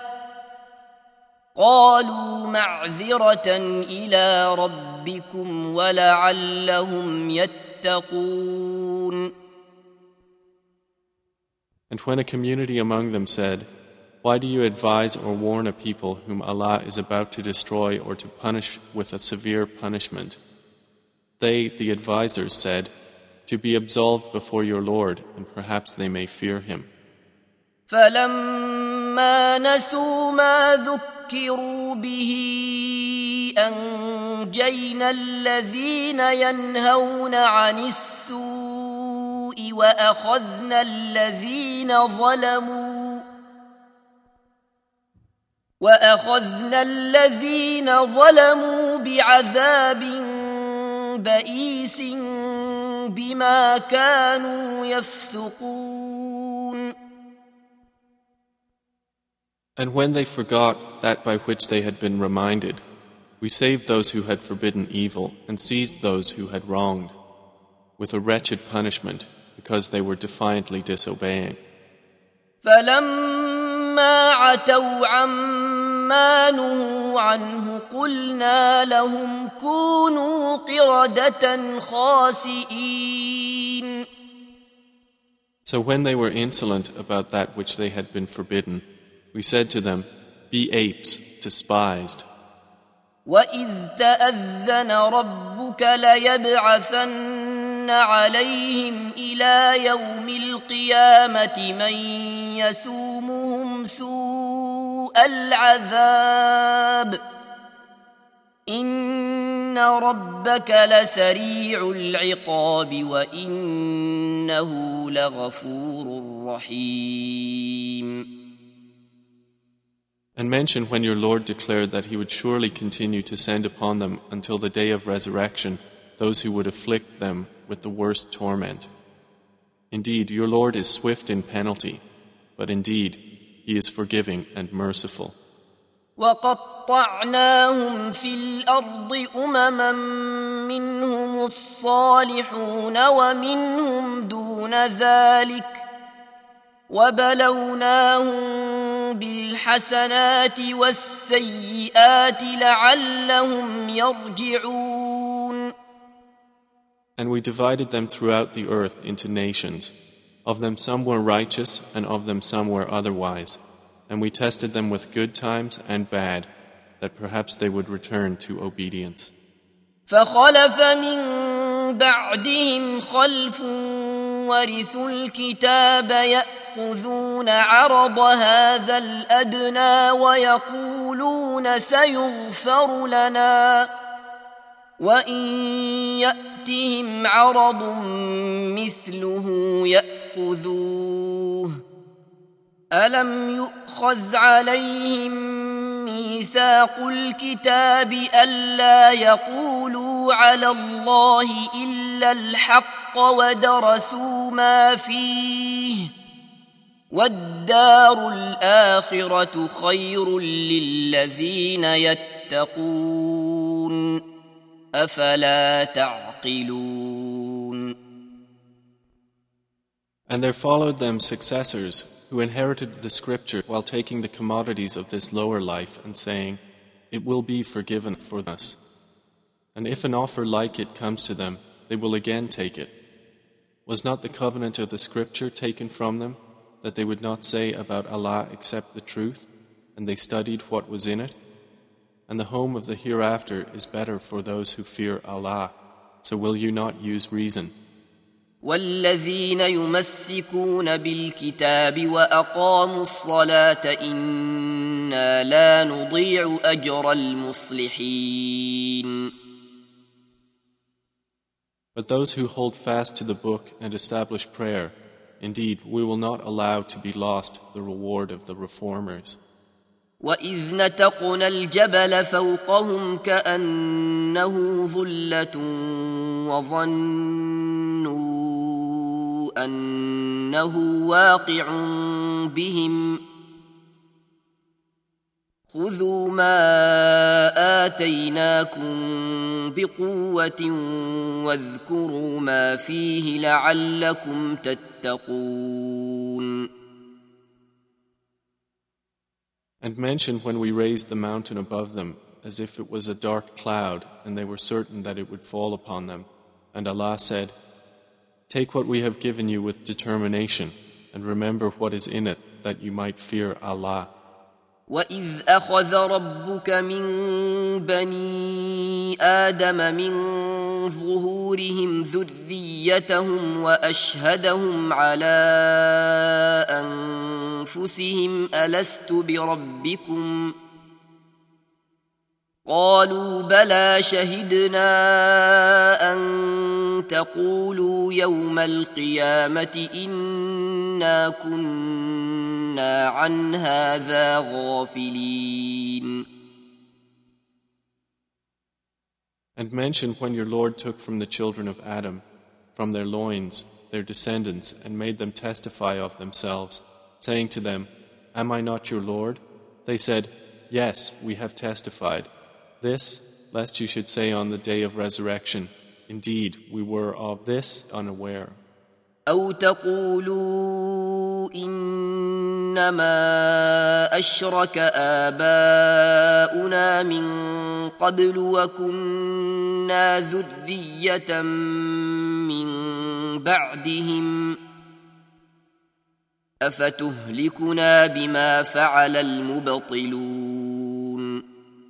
قالوا معذرة إلى ربكم ولعلهم يتقون. And when a community among them said, "Why do you advise or warn a people whom Allah is about to destroy or to punish with a severe punishment?" They, the advisors, said, "To be absolved before your Lord, and perhaps they may fear Him." فَلَمَّا نَسُوا مَا ذُكِّرُوا بِهِ أَنجَيْنَا الَّذِينَ يَنْهَوْنَ عَنِ السُّوءِ وَأَخَذْنَا الَّذِينَ ظَلَمُوا بِعَذَابٍ بَئِيسٍ بِمَا كَانُوا يَفْسُقُونَ. And when they forgot that by which they had been reminded, we saved those who had forbidden evil and seized those who had wronged, with a wretched punishment because they were defiantly disobeying. فَلَمَّا عَتَوْا عَمَّا نُهُوا عَنْهُ قُلْنَا لَهُمْ كُونُوا قِرَدَةً خَاسِئِينَ. So when they were insolent about that which they had been forbidden, we said to them, "Be apes, despised." وَإِذْ تَأَذَّنَ رَبُّكَ لَيَبْعَثَنَّ عَلَيْهِمْ إِلَى يَوْمِ الْقِيَامَةِ مَنْ يَسُومُهُمْ سُوءَ الْعَذَابِ إِنَّ رَبَّكَ لَسَرِيعُ الْعِقَابِ وَإِنَّهُ لَغَفُورٌ رَحِيمٌ. And mention when your Lord declared that He would surely continue to send upon them until the day of resurrection those who would afflict them with the worst torment. Indeed, your Lord is swift in penalty, but indeed, He is forgiving and merciful. وَقَطَّعْنَاهُمْ فِي الْأَرْضِ أُمَمًا مِّنْهُمُ الصَّالِحُونَ وَمِنْهُمْ دُونَ ذَلِكَ وبلوناهم بالحسنات والسيئات لعلهم يرجعون. And we divided them throughout the earth into nations. Of them some were righteous, and of them some were otherwise. And we tested them with good times and bad, that perhaps they would return to obedience. فخلف من بعدهم خلف ورثوا الكتاب يأخذون عرض هذا الأدنى ويقولون سيغفر لنا وإن يأتهم عرض مثله يأخذوه ألم يؤخذ عليهم ميثاق الكتاب ألا يقولوا على الله إلا الحق ودرسوا ما فيه والدار الآخرة خير للذين يتقون أفلا تعقلون. And there followed them successors who inherited the scripture while taking the commodities of this lower life and saying, "It will be forgiven for us." And if an offer like it comes to them, they will again take it. Was not the covenant of the scripture taken from them, that they would not say about Allah except the truth, and they studied what was in it? And the home of the hereafter is better for those who fear Allah. So will you not use reason? والذين يمسكون بالكتاب وأقاموا الصلاة إنا لا نضيع أجر المصلحين. But those who hold fast to the book and establish prayer, indeed, we will not allow to be lost the reward of the reformers. وَإِذْ نَتَقْنَا الْجَبَلَ فَوْقَهُمْ كَأَنَّهُ ظُلَّةٌ وَظَنُّوا أَنَّهُ وَاقِعٌ بِهِمْ خُذُوا مَا آتَيْنَاكُمْ بِقُوَّةٍ وَاذْكُرُوا مَا فِيهِ لَعَلَّكُمْ تَتَّقُونَ. And mention when we raised the mountain above them as if it was a dark cloud and they were certain that it would fall upon them. And Allah said, "Take what we have given you with determination and remember what is in it that you might fear Allah." وَإِذْ أَخَذَ رَبُّكَ مِنْ بَنِي آدَمَ مِنْ ظُهُورِهِمْ ذُرِّيَّتَهُمْ وَأَشْهَدَهُمْ عَلَى أَنفُسِهِمْ أَلَسْتُ بِرَبِّكُمْ قَالُوا بَلَى شَهِدْنَا أَنْ تَقُولُوا يَوْمَ الْقِيَامَةِ إِنَّا كُنَّا عَنْ هَذَا غَافِلِينَ. And mention when your Lord took from the children of Adam, from their loins, their descendants, and made them testify of themselves, saying to them, "Am I not your Lord?" They said, "Yes, we have testified." This, lest you should say on the day of resurrection, "Indeed, we were of this unaware." أو تقولوا إنما أشرك آباؤنا من قبل وكنا ذرية من بعدهم أفتهلكنا بما فعل المبطلون.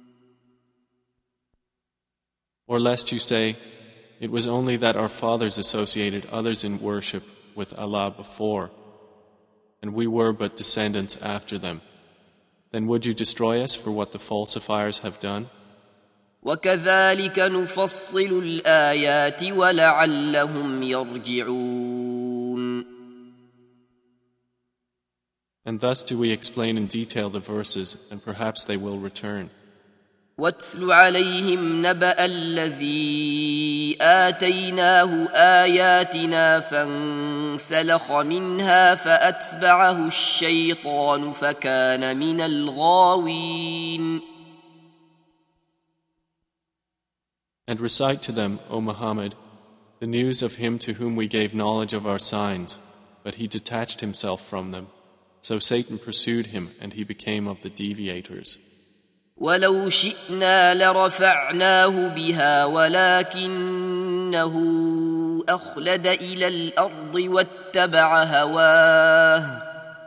Or lest you say, "It was only that our fathers associated others in worship with Allah before, and we were but descendants after them. Then would you destroy us for what the falsifiers have done?" وَكَذَلِكَ نُفَصِّلُ الْآيَاتِ وَلَعَلَّهُمْ يَرْجِعُونَ. And thus do we explain in detail the verses, and perhaps they will return. وَاتْلُ عَلَيْهِمْ نَبَأَ الَّذِي آتَيْنَاهُ آيَاتِنَا فَانسَلَخَ مِنْهَا فَأَتْبَعَهُ الشَّيْطَانُ فَكَانَ مِنَ الْغَاوِينَ. And recite to them, O Muhammad, the news of him to whom we gave knowledge of our signs, but he detached himself from them. So Satan pursued him, and he became of the deviators. ولو شئنا لرفعناه بها ولكنه أخلد إلى الأرض واتبع هواه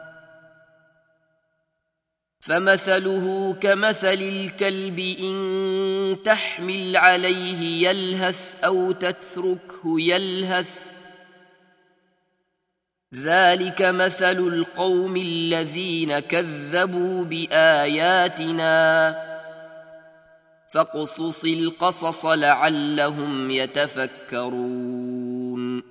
فمثله كمثل الكلب إن تحمل عليه يلهث أو تتركه يلهث ذلك مثل القوم الذين كذبوا بآياتنا فاقصص القصص لعلهم يتفكرون.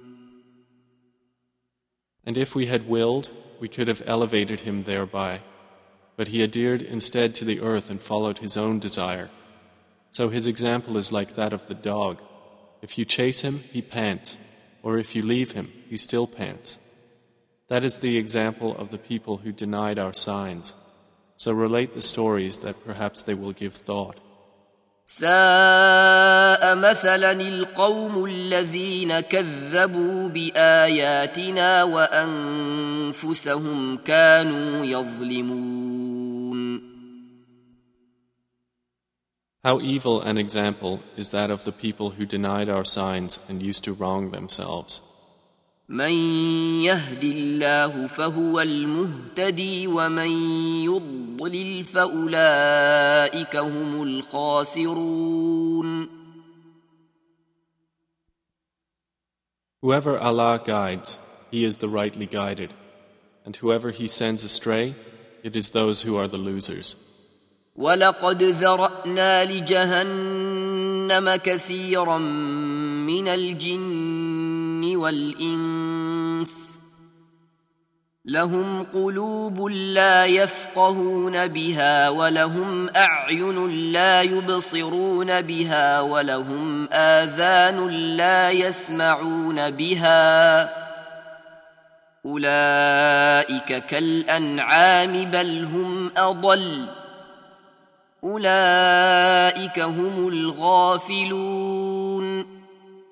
And if we had willed, we could have elevated him thereby. But he adhered instead to the earth and followed his own desire. So his example is like that of the dog. If you chase him, he pants, or if you leave him, he still pants. That is the example of the people who denied our signs. So relate the stories that perhaps they will give thought. ساء مثلا القوم الذين كذبوا بآياتنا وأنفسهم كانوا يظلمون. How evil an example is that of the people who denied our signs and used to wrong themselves. من يهد الله فهو المهتدي ومن يضلل فأولئك هم الخاسرون. Whoever Allah guides, he is the rightly guided, and whoever he sends astray, it is those who are the losers. ولقد ذرأنا لجهنم كثيرا من الجن والإنس لهم قلوب لا يفقهون بها ولهم أعين لا يبصرون بها ولهم آذان لا يسمعون بها أولئك كالأنعام بل هم أضل أولئك هم الغافلون.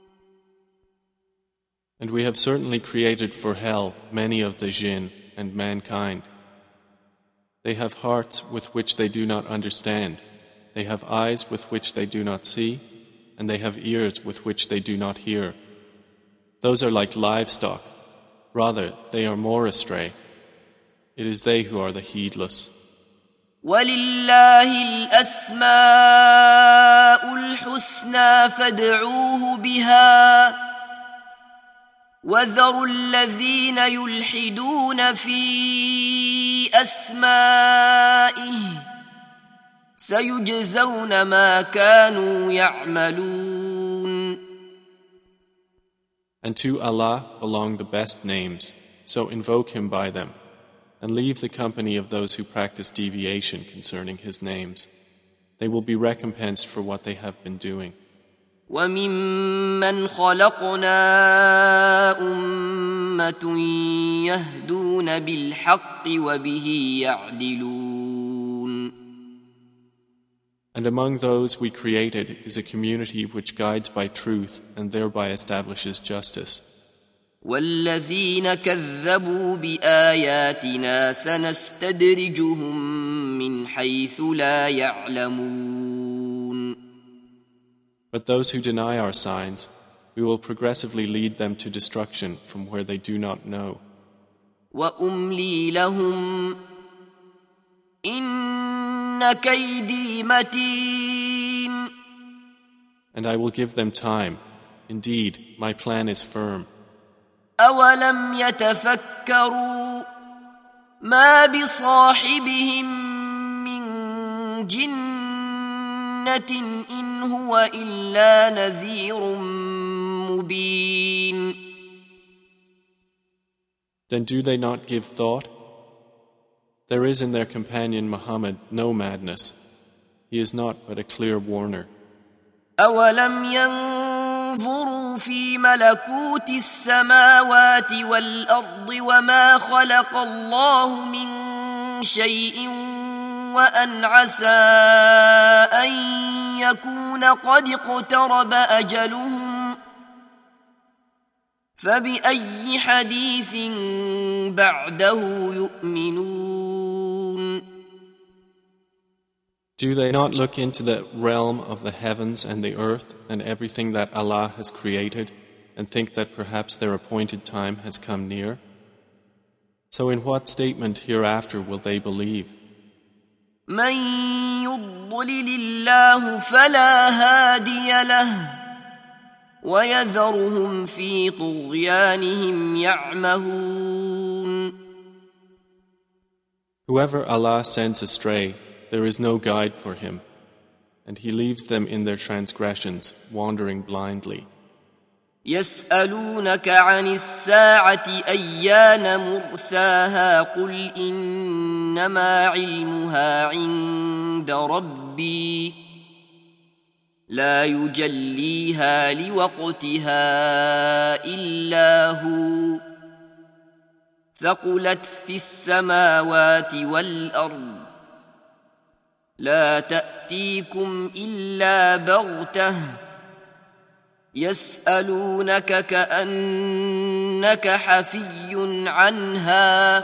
And we have certainly created for hell many of the jinn and mankind. They have hearts with which they do not understand, they have eyes with which they do not see, and they have ears with which they do not hear. Those are like livestock, rather they are more astray. It is they who are the heedless. وَلِلَّهِ الْأَسْمَاءُ الْحُسْنَى فَادْعُوهُ بِهَا وَذَرُوا الَّذِينَ يُلْحِدُونَ فِي أَسْمَائِهِ سَيُجْزَوْنَ مَا كَانُوا يَعْمَلُونَ. And to Allah belong the best names, so invoke Him by them, and leave the company of those who practice deviation concerning His names. They will be recompensed for what they have been doing. وَمِمَّنْ خَلَقْنَا أُمَّةٌ يَهْدُونَ بِالْحَقِّ وَبِهِ يَعْدِلُونَ. And among those we created is a community which guides by truth and thereby establishes justice. وَالَّذِينَ كَذَّبُوا بِآيَاتِنَا سَنَسْتَدْرِجُهُم مِّنْ حَيْثُ لَا يَعْلَمُونَ. But those who deny our signs, we will progressively lead them to destruction from where they do not know. وَأُمْلِي لَهُمْ إِنَّ كَيْدِي مَتِينٌ. And I will give them time. Indeed, my plan is firm. أَوَلَمْ يَتَفَكَّرُوا مَا بِصَاحِبِهِم مِّن جِنَّةٍ إِنْ هُوَ إِلَّا نَذِيرٌ مُّبِينٌ. Then do they not give thought? There is in their companion Muhammad no madness. He is not but a clear warner. أَوَلَمْ يَنظُرُوا فِي مَلَكُوتِ السَّمَاوَاتِ وَالْأَرْضِ وَمَا خَلَقَ اللَّهُ مِن شَيْءٍ وَأَنْ عَسَىٰ أَن يَكُونَ قَدِ اقْتَرَبَ أَجَلُهُمْ فبأي حديث بعده يؤمنون Do they not look into the realm of the heavens and the earth and everything that Allah has created and think that perhaps their appointed time has come near? So in what statement hereafter will they believe? من يضلل الله فلا هادي له ويذرهم في طغيانهم يعمهون Whoever Allah sends astray, there is no guide for him, and He leaves them in their transgressions, wandering blindly. يسألونك عن الساعة أيان مرساها قل إنما علمها عند ربي لا يجليها لوقتها إلا هو ثقلت في السماوات والأرض لا تأتيكم إلا بغتة يسألونك كأنك حفي عنها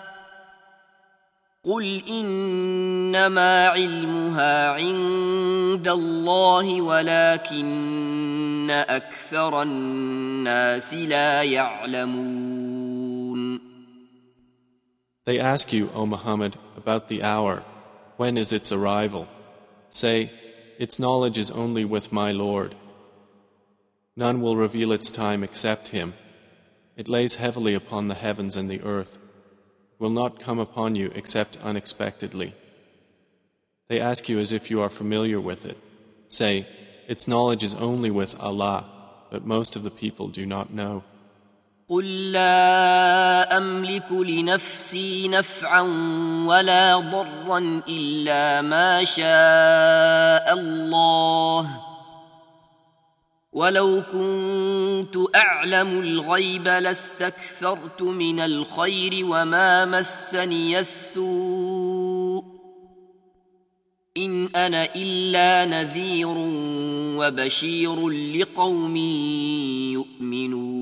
قل إنما علمها عند الله ولكن أكثر الناس لا يعلمون They ask you, O Muhammad, about the hour. When is its arrival? Say, its knowledge is only with my Lord. None will reveal its time except Him. It lays heavily upon the heavens and the earth. It will not come upon you except unexpectedly. They ask you as if you are familiar with it. Say, its knowledge is only with Allah, but most of the people do not know. قل لا أملك لنفسي نفعا ولا ضرا إلا ما شاء الله ولو كنت أعلم الغيب لاستكثرت من الخير وما مسني السوء إن أنا إلا نذير وبشير لقوم يؤمنون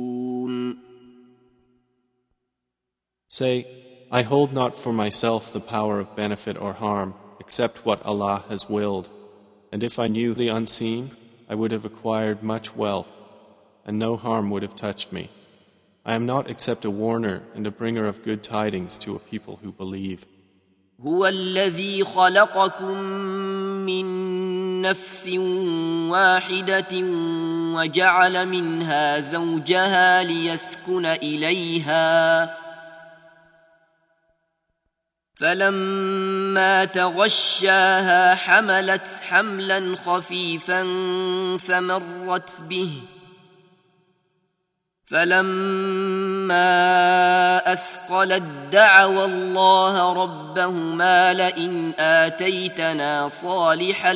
Say, I hold not for myself the power of benefit or harm except what Allah has willed, and if I knew the unseen, I would have acquired much wealth, and no harm would have touched me. I am not except a warner and a bringer of good tidings to a people who believe. هو الذي خلقكم من نفس واحدة وجعل منها زوجها ليسكن إليها فلما تغشاها حملت حملا خفيفا فمرت به فلما أثقلت دعوا الله ربهما لئن آتيتنا صالحا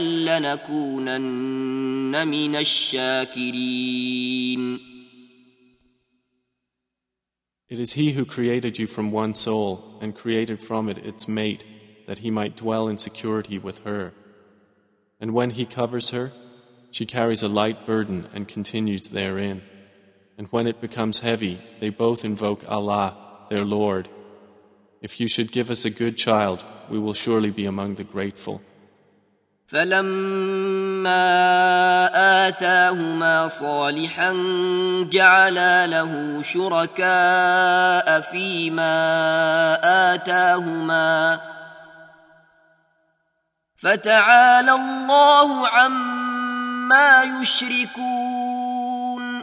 لنكونن من الشاكرين It is He who created you from one soul and created from it its mate, that He might dwell in security with her. And when He covers her, she carries a light burden and continues therein. And when it becomes heavy, they both invoke Allah, their Lord. If you should give us a good child, we will surely be among the grateful. فلما آتاهما صالحا جعلا له شركاء فيما آتاهما فتعالى الله عما يشركون.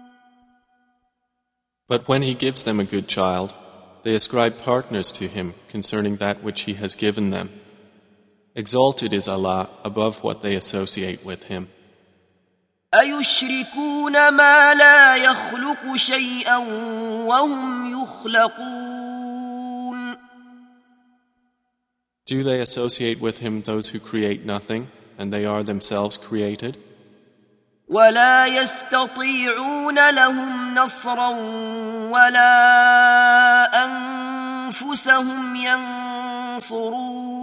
But when He gives them a good child, they ascribe partners to Him concerning that which He has given them. Exalted is Allah above what they associate with Him. أَيُشْرِكُونَ مَا لَا يَخْلُقُ شَيْئًا وَهُمْ يُخْلَقُونَ. Do they associate with Him those who create nothing, and they are themselves created? وَلَا يَسْتَطِيعُونَ لَهُمْ نَصْرًا وَلَا أَنفُسَهُمْ يَنصُرُونَ.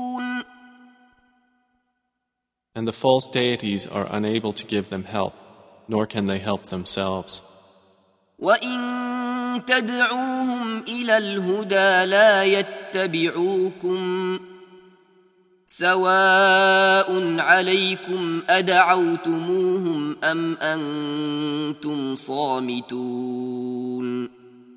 And the false deities are unable to give them help, nor can they help themselves. وإن تدعوهم إلى الهدى لا يتبعوكم سواء عليكم أدعوتموهم أم أنتم صامتون.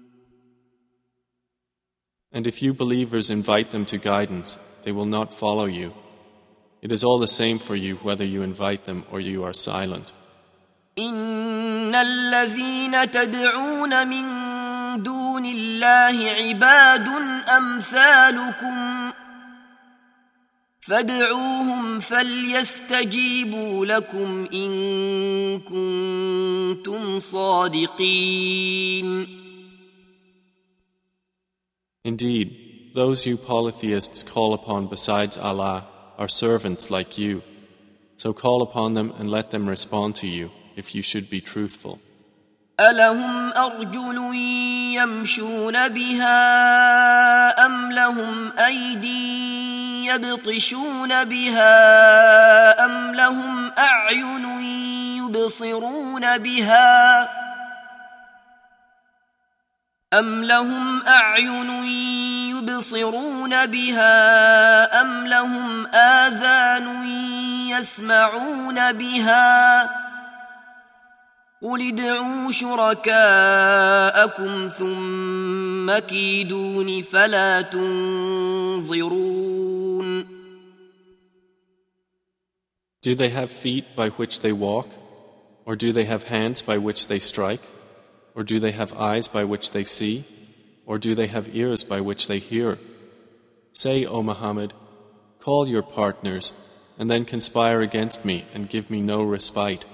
And if you believers invite them to guidance, they will not follow you. It is all the same for you whether you invite them or you are silent. إن الذين تدعون من دون الله عباد أمثالكم فادعوهم فليستجيبوا لكم إن كنتم صادقين. Indeed, those you polytheists call upon besides Allah are servants like you. So call upon them and let them respond to you if you should be truthful. ألهم أرجل يمشون بها أم لهم أيدي يبطشون بها أم لهم أعين يبصرون بها أم لهم آذان يسمعون بها قل ادعوا شركاءكم ثم كيدون فلا تنظرون. Do they have feet by which they walk? Or do they have hands by which they strike? Or do they have eyes by which they see? Or do they have ears by which they hear? Say, O Muhammad, call your partners, and then conspire against me and give me no respite.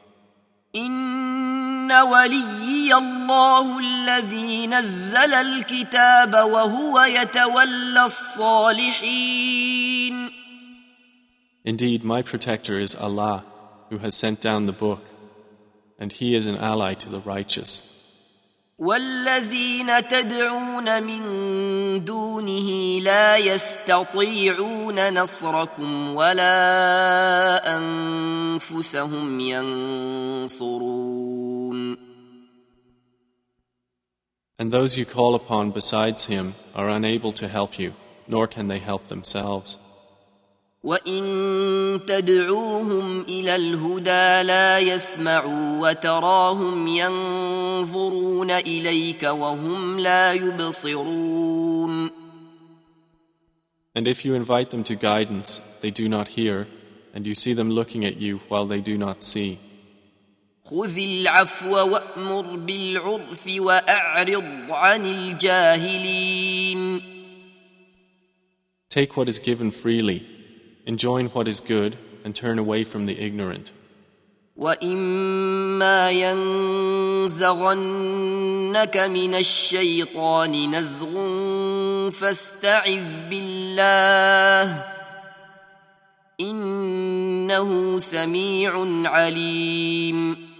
إن وليي الله الذي نزل الكتاب وهو يتولى الصالحين. Indeed, my protector is Allah, who has sent down the book, and He is an ally to the righteous. والذين تدعون من دونه لا يستطيعون نصركم ولا أنفسهم ينصرون. And those you call upon besides Him are unable to help you, nor can they help themselves. وإن تدعوهم إلى الهدى لا يسمعوا وتراهم ينظرون إليك وهم لا يبصرون. And if you invite them to guidance, they do not hear, and you see them looking at you while they do not see. خذ العفو وأمر بالعرف وأعرض عن الجاهلين. Take what is given freely, enjoin what is good, and turn away from the ignorant. وَإِمَّا يَنزَغَنَّكَ مِنَ الشَّيْطَانِ نَزْغٌ فَاسْتَعِذْ بِاللَّهِ إِنَّهُ سَمِيعٌ عَلِيمٌ.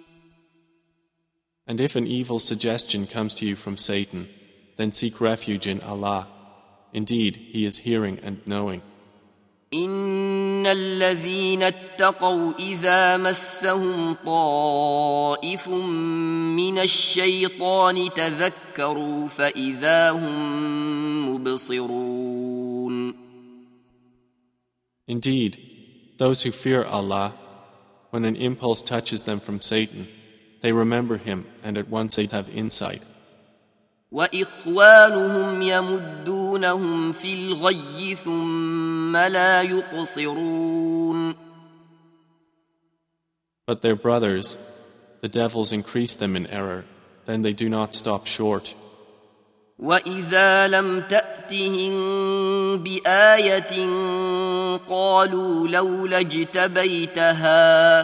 And if an evil suggestion comes to you from Satan, then seek refuge in Allah. Indeed, He is hearing and knowing. إن الذين اتقوا إذا مسهم طائف من الشيطان تذكروا فإذا هم مبصرون. Indeed, those who fear Allah, when an impulse touches them from Satan, they remember Him and at once they have insight. وإخوانهم يمدونهم في الغي ثم لا يقصرون. But their brothers, the devils increase them in error, then they do not stop short. وإذا لم تأتهم بآية قالوا لولا اجتبيتها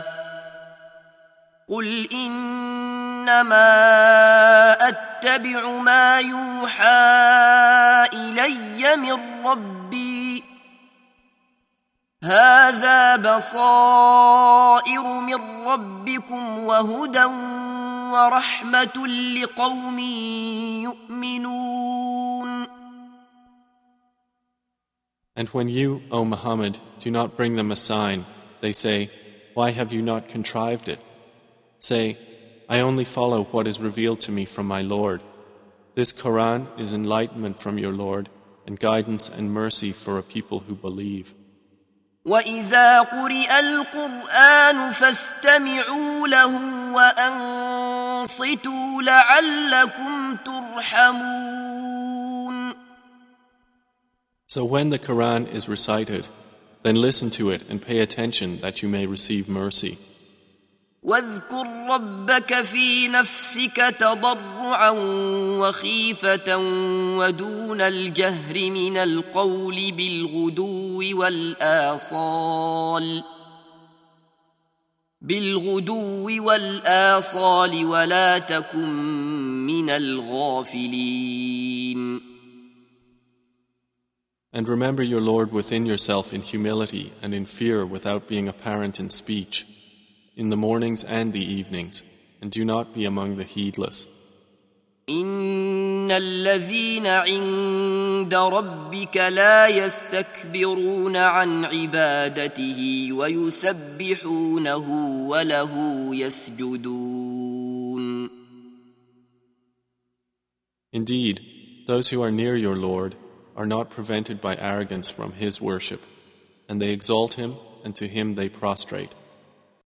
قل إنما أتبع ما يوحى إلي من ربي هذا بصائر من ربكم وهدى ورحمة لقوم يؤمنون. And when you, O Muhammad, do not bring them a sign, they say, why have you not contrived it? Say, I only follow what is revealed to me from my Lord. This Quran is enlightenment from your Lord and guidance and mercy for a people who believe. وَإِذَا قُرِئَ الْقُرْآنُ فَاسْتَمِعُوا لَهُ وَأَنصِتُوا لَعَلَّكُمْ تُرْحَمُونَ. So when the Quran is recited, then listen to it and pay attention that you may receive mercy. واذكر ربك في نفسك تضرعا وخيفة ودون الجهر من القول بالغدو والآصال ولا تكن من الغافلين. And remember your Lord within yourself in humility and in fear without being apparent in speech, in the mornings and the evenings, and do not be among the heedless. إن الذين عند ربك لا يستكبرون عن عبادته ويسبحونه وله يسجدون. Indeed, those who are near your Lord are not prevented by arrogance from His worship, and they exalt Him, and to Him they prostrate.